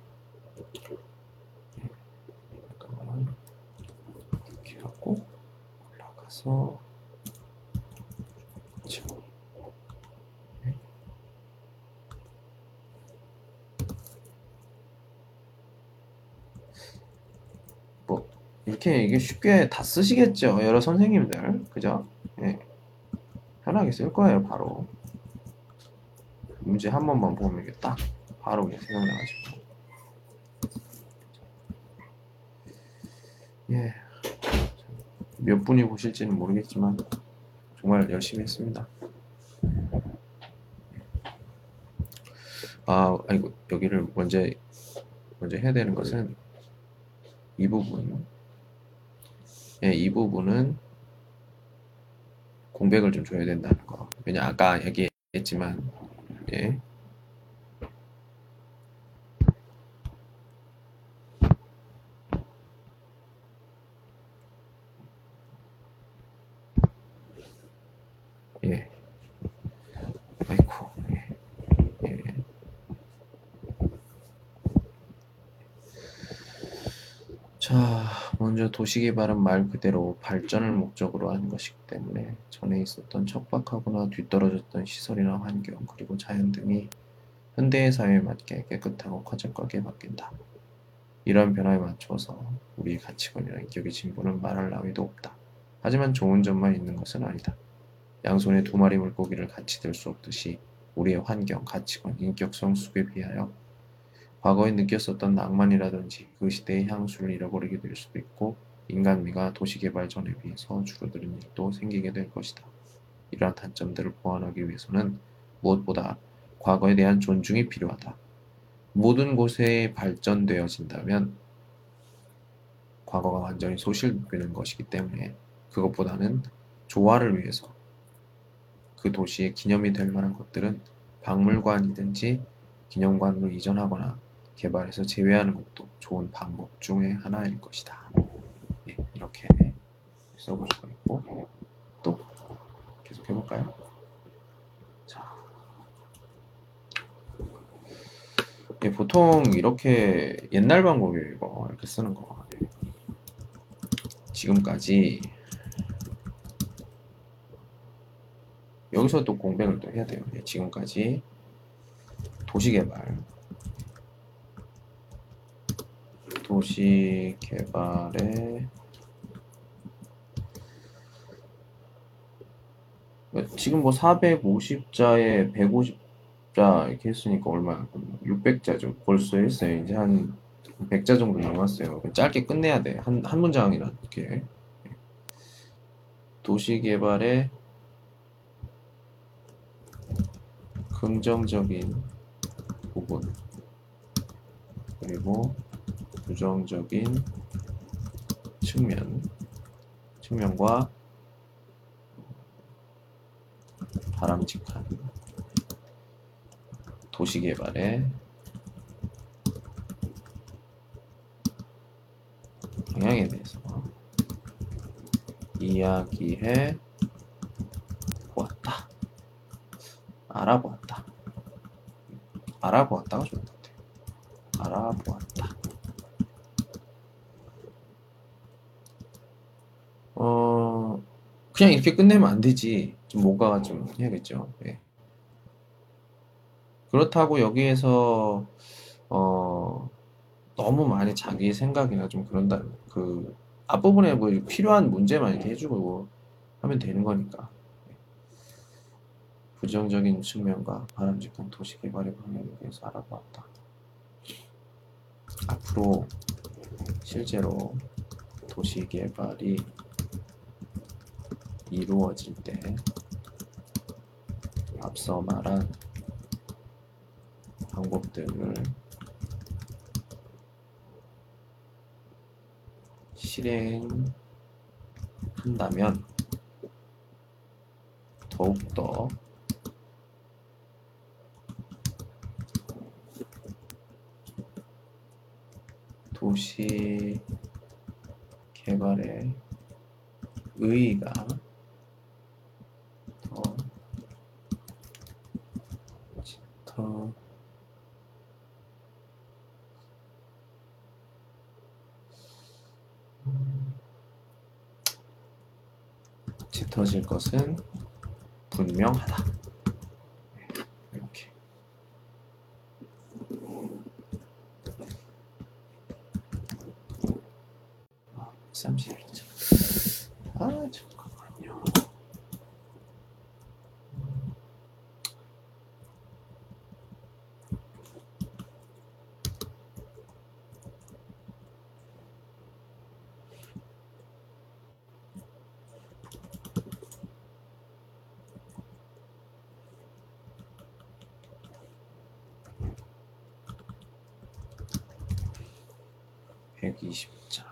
Speaker 1: 잠깐만. 이렇게 하고, 올라가서. 그렇죠. 뭐, 이렇게 이게 쉽게 다 쓰시겠죠. 여러 선생님들. 그죠? 예. 편하게 쓸 거예요, 바로. 문제 한 번만 보면 이게 딱 바로 그냥 생각나가지고. 예. 몇 분이 보실지는 모르겠지만 정말 열심히 했습니다. 아, 아이고 여기를 먼저 먼저 해야 되는 것은 이 부분. 예, 이 부분은 공백을 좀 줘야 된다는 거. 왜냐 아까 얘기했지만 예. 도시개발은 말 그대로 발전을 목적으로 한 것이기 때문에 전에 있었던 척박하거나 뒤떨어졌던 시설이나 환경 그리고 자연 등이 현대의 사회에 맞게 깨끗하고 쾌적하게 바뀐다. 이러한 변화에 맞춰서 우리의 가치관이나 인격의 진보는 말할 나위도 없다. 하지만 좋은 점만 있는 것은 아니다. 양손에 두 마리 물고기를 같이 들 수 없듯이 우리의 환경, 가치관, 인격 성숙에 비하여 과거에 느꼈었던 낭만이라든지 그 시대의 향수를 잃어버리게 될 수도 있고 인간미가 도시개발 전에 비해서 줄어드는 일도 생기게 될 것이다. 이러한 단점들을 보완하기 위해서는 무엇보다 과거에 대한 존중이 필요하다. 모든 곳에 발전되어진다면 과거가 완전히 소실되는 것이기 때문에 그것보다는 조화를 위해서 그 도시의 기념이 될 만한 것들은 박물관이든지 기념관으로 이전하거나 개발해서 제외하는 것도 좋은 방법 중의 하나일 것이다. 네, 이렇게 써볼 수가 있고 또 계속 해볼까요? 자, 네, 보통 이렇게 옛날 방법이에요. 이거 이렇게 쓰는 거. 네. 지금까지 여기서 또 공백을 또 해야 돼요. 네, 지금까지 도시개발 도시개발에 지금 뭐 사백오십 자에 백오십 자 이렇게 했으니까 얼마야? 육백 자죠. 벌써 했어요. 이제 한 백 자 정도 남았어요. 짧게 끝내야 돼. 한, 한 문장이나 이렇게. 도시개발의 긍정적인 부분 그리고 부정적인 측면 측면과 바람직한 도시개발의 방향에 대해서 이야기해 보았다. 알아보았다. 알아보았다가 좋은 것 같아요. 알아보았다. 어, 그냥 이렇게 끝내면 안 되지. 좀 뭔가 좀 해야겠죠. 네. 그렇다고 여기에서 어, 너무 많이 자기 생각이나 좀 그런다. 그 앞부분에 뭐 필요한 문제만 이렇게 해주고 하면 되는 거니까. 네. 부정적인 측면과 바람직한 도시 개발의 방향에 대해서 알아보았다. 앞으로 실제로 도시 개발이 이루어질 때 앞서 말한 방법들을 실행한다면 더욱더 도시 개발의 의의가 더, 더 짙어질 것은 분명하다. 이렇게. 아, 삼십일 점. 아, 잠깐만요. 백이십 자.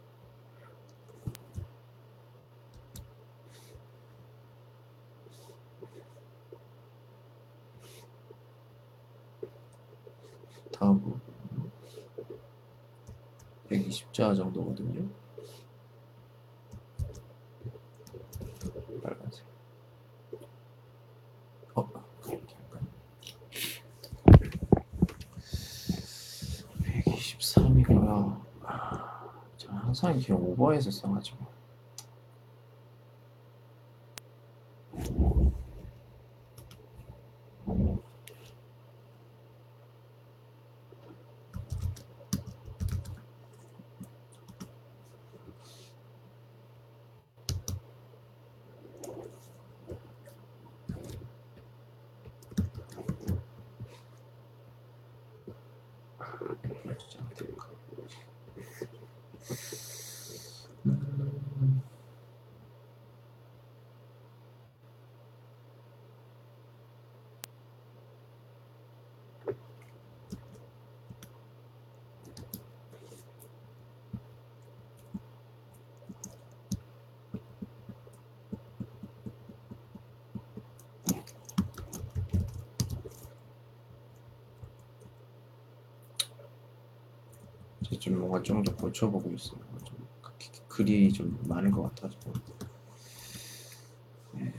Speaker 1: 다음 부분 백이십 자 정도거든요. 빨간색. 어, 그렇게 할까요? 백이십삼이고요. 자, 항상 항상 이렇게 오버해서 써가지고. 음. 이제 좀 뭔가 좀 더 고쳐보고 있어요. 좀 글이 좀 많은 것 같아서. 네.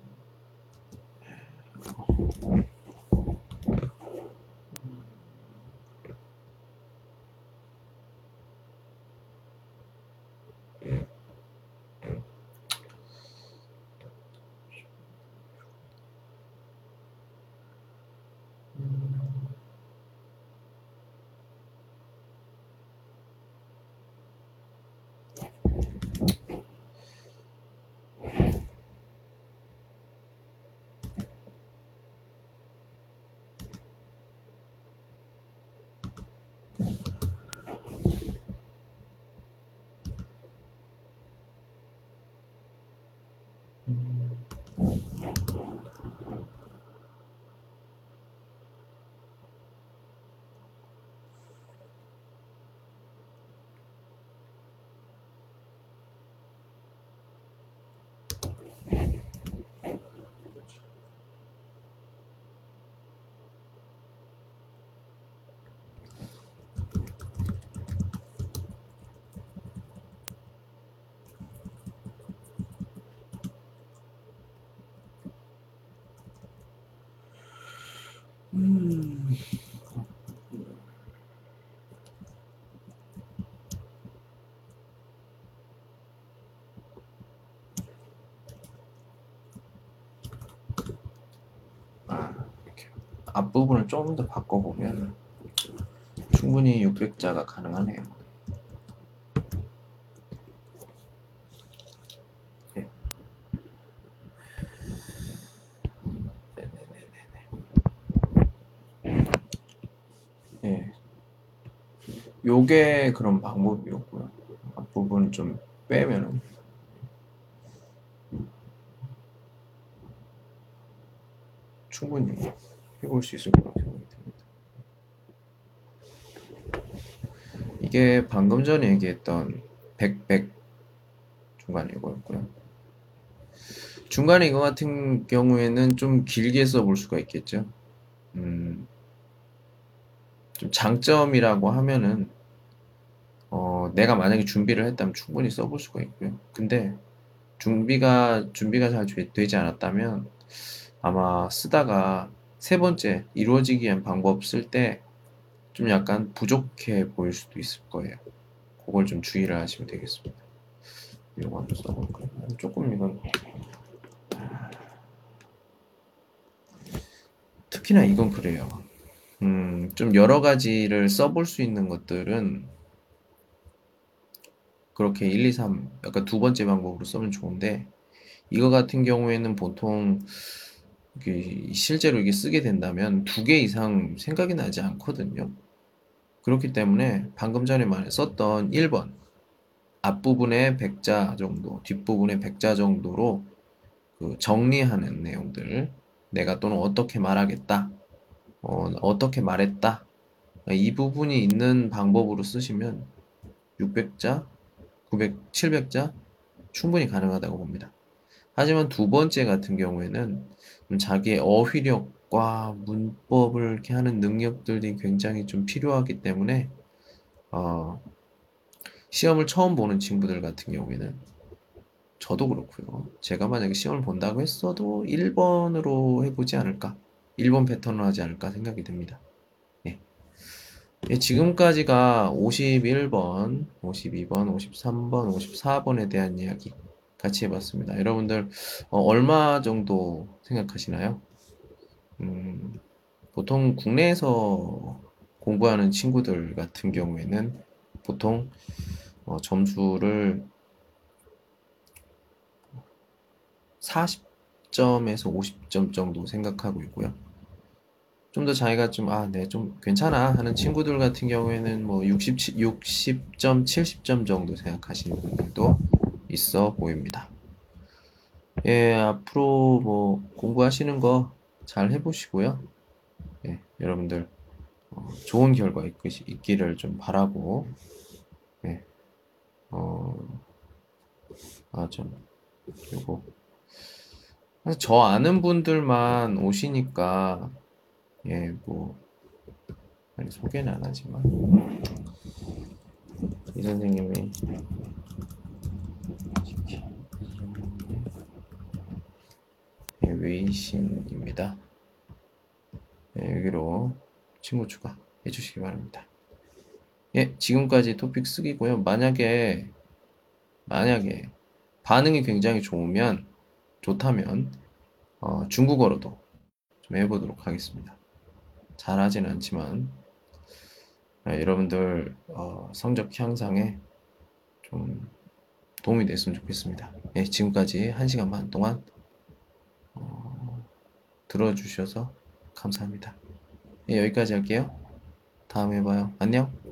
Speaker 1: 음. 아, 이렇게 앞부분을 좀 더 바꿔보면 충분히 육백 자가 가능하네요. 네. 네. 요게 그런 방법이었고요. 앞부분 좀 빼면은 충분히 해볼 수 있을 거라고 생각이 듭니다. 이게 방금 전에 얘기했던 백, 백 중간 이거였고요. 중간에 이거 같은 경우에는 좀 길게 써볼 수가 있겠죠. 음, 좀 장점이라고 하면은 어, 내가 만약에 준비를 했다면 충분히 써볼 수가 있고요. 근데 준비가 준비가 잘 되- 되지 않았다면 아마 쓰다가 세 번째 이루어지기 위한 방법 쓸 때 좀 약간 부족해 보일 수도 있을 거예요. 그걸 좀 주의를 하시면 되겠습니다. 이거 한번 써볼까요? 조금 이건 특히나 이건 그래요. 음, 좀 여러 가지를 써볼 수 있는 것들은 그렇게 일, 이, 삼 약간 두 번째 방법으로 쓰면 좋은데 이거 같은 경우에는 보통 이게 실제로 이게 쓰게 된다면 두 개 이상 생각이 나지 않거든요. 그렇기 때문에 방금 전에 말 썼던 일 번 앞부분에 백 자 정도, 뒷부분에 백 자 정도로 그 정리하는 내용들 내가 또는 어떻게 말하겠다, 어, 어떻게 말했다 이 부분이 있는 방법으로 쓰시면 육백 자, 구백, 칠백 자 충분히 가능하다고 봅니다. 하지만 두 번째 같은 경우에는 좀 자기의 어휘력과 문법을 이렇게 하는 능력들이 굉장히 좀 필요하기 때문에 어, 시험을 처음 보는 친구들 같은 경우에는 저도 그렇고요. 제가 만약에 시험을 본다고 했어도 일 번으로 해보지 않을까? 일 번 패턴으로 하지 않을까 생각이 듭니다. 예. 예, 지금까지가 오십일 번, 오십이 번, 오십삼 번, 오십사 번에 대한 이야기 같이 해봤습니다. 여러분들 어, 얼마 정도 생각하시나요? 음, 보통 국내에서 공부하는 친구들 같은 경우에는 보통 어, 점수를 사십 점에서 오십 점 정도 생각하고 있고요. 좀 더 자기가 좀, 아, 네, 좀 괜찮아 하는 친구들 같은 경우에는 뭐 육십, 육십 점, 칠십 점 정도 생각하시는 분들도 있어 보입니다. 예, 앞으로 뭐 공부하시는 거 잘 해보시고요. 예, 여러분들 어, 좋은 결과 있, 있기를 좀 바라고, 예, 어, 아, 좀, 요거. 사실 저 아는 분들만 오시니까, 예, 뭐, 아니, 소개는 안 하지만, 이 선생님이, 예, 웨이신입니다. 예, 여기로 친구 추가해 주시기 바랍니다. 예, 지금까지 토픽 쓰기고요. 만약에, 만약에 반응이 굉장히 좋으면, 좋다면, 어, 중국어로도 좀 해보도록 하겠습니다. 잘하진 않지만, 아, 여러분들, 어, 성적 향상에 좀 도움이 됐으면 좋겠습니다. 예, 지금까지 한 시간 반 동안 어, 들어주셔서 감사합니다. 예, 여기까지 할게요. 다음에 봐요. 안녕.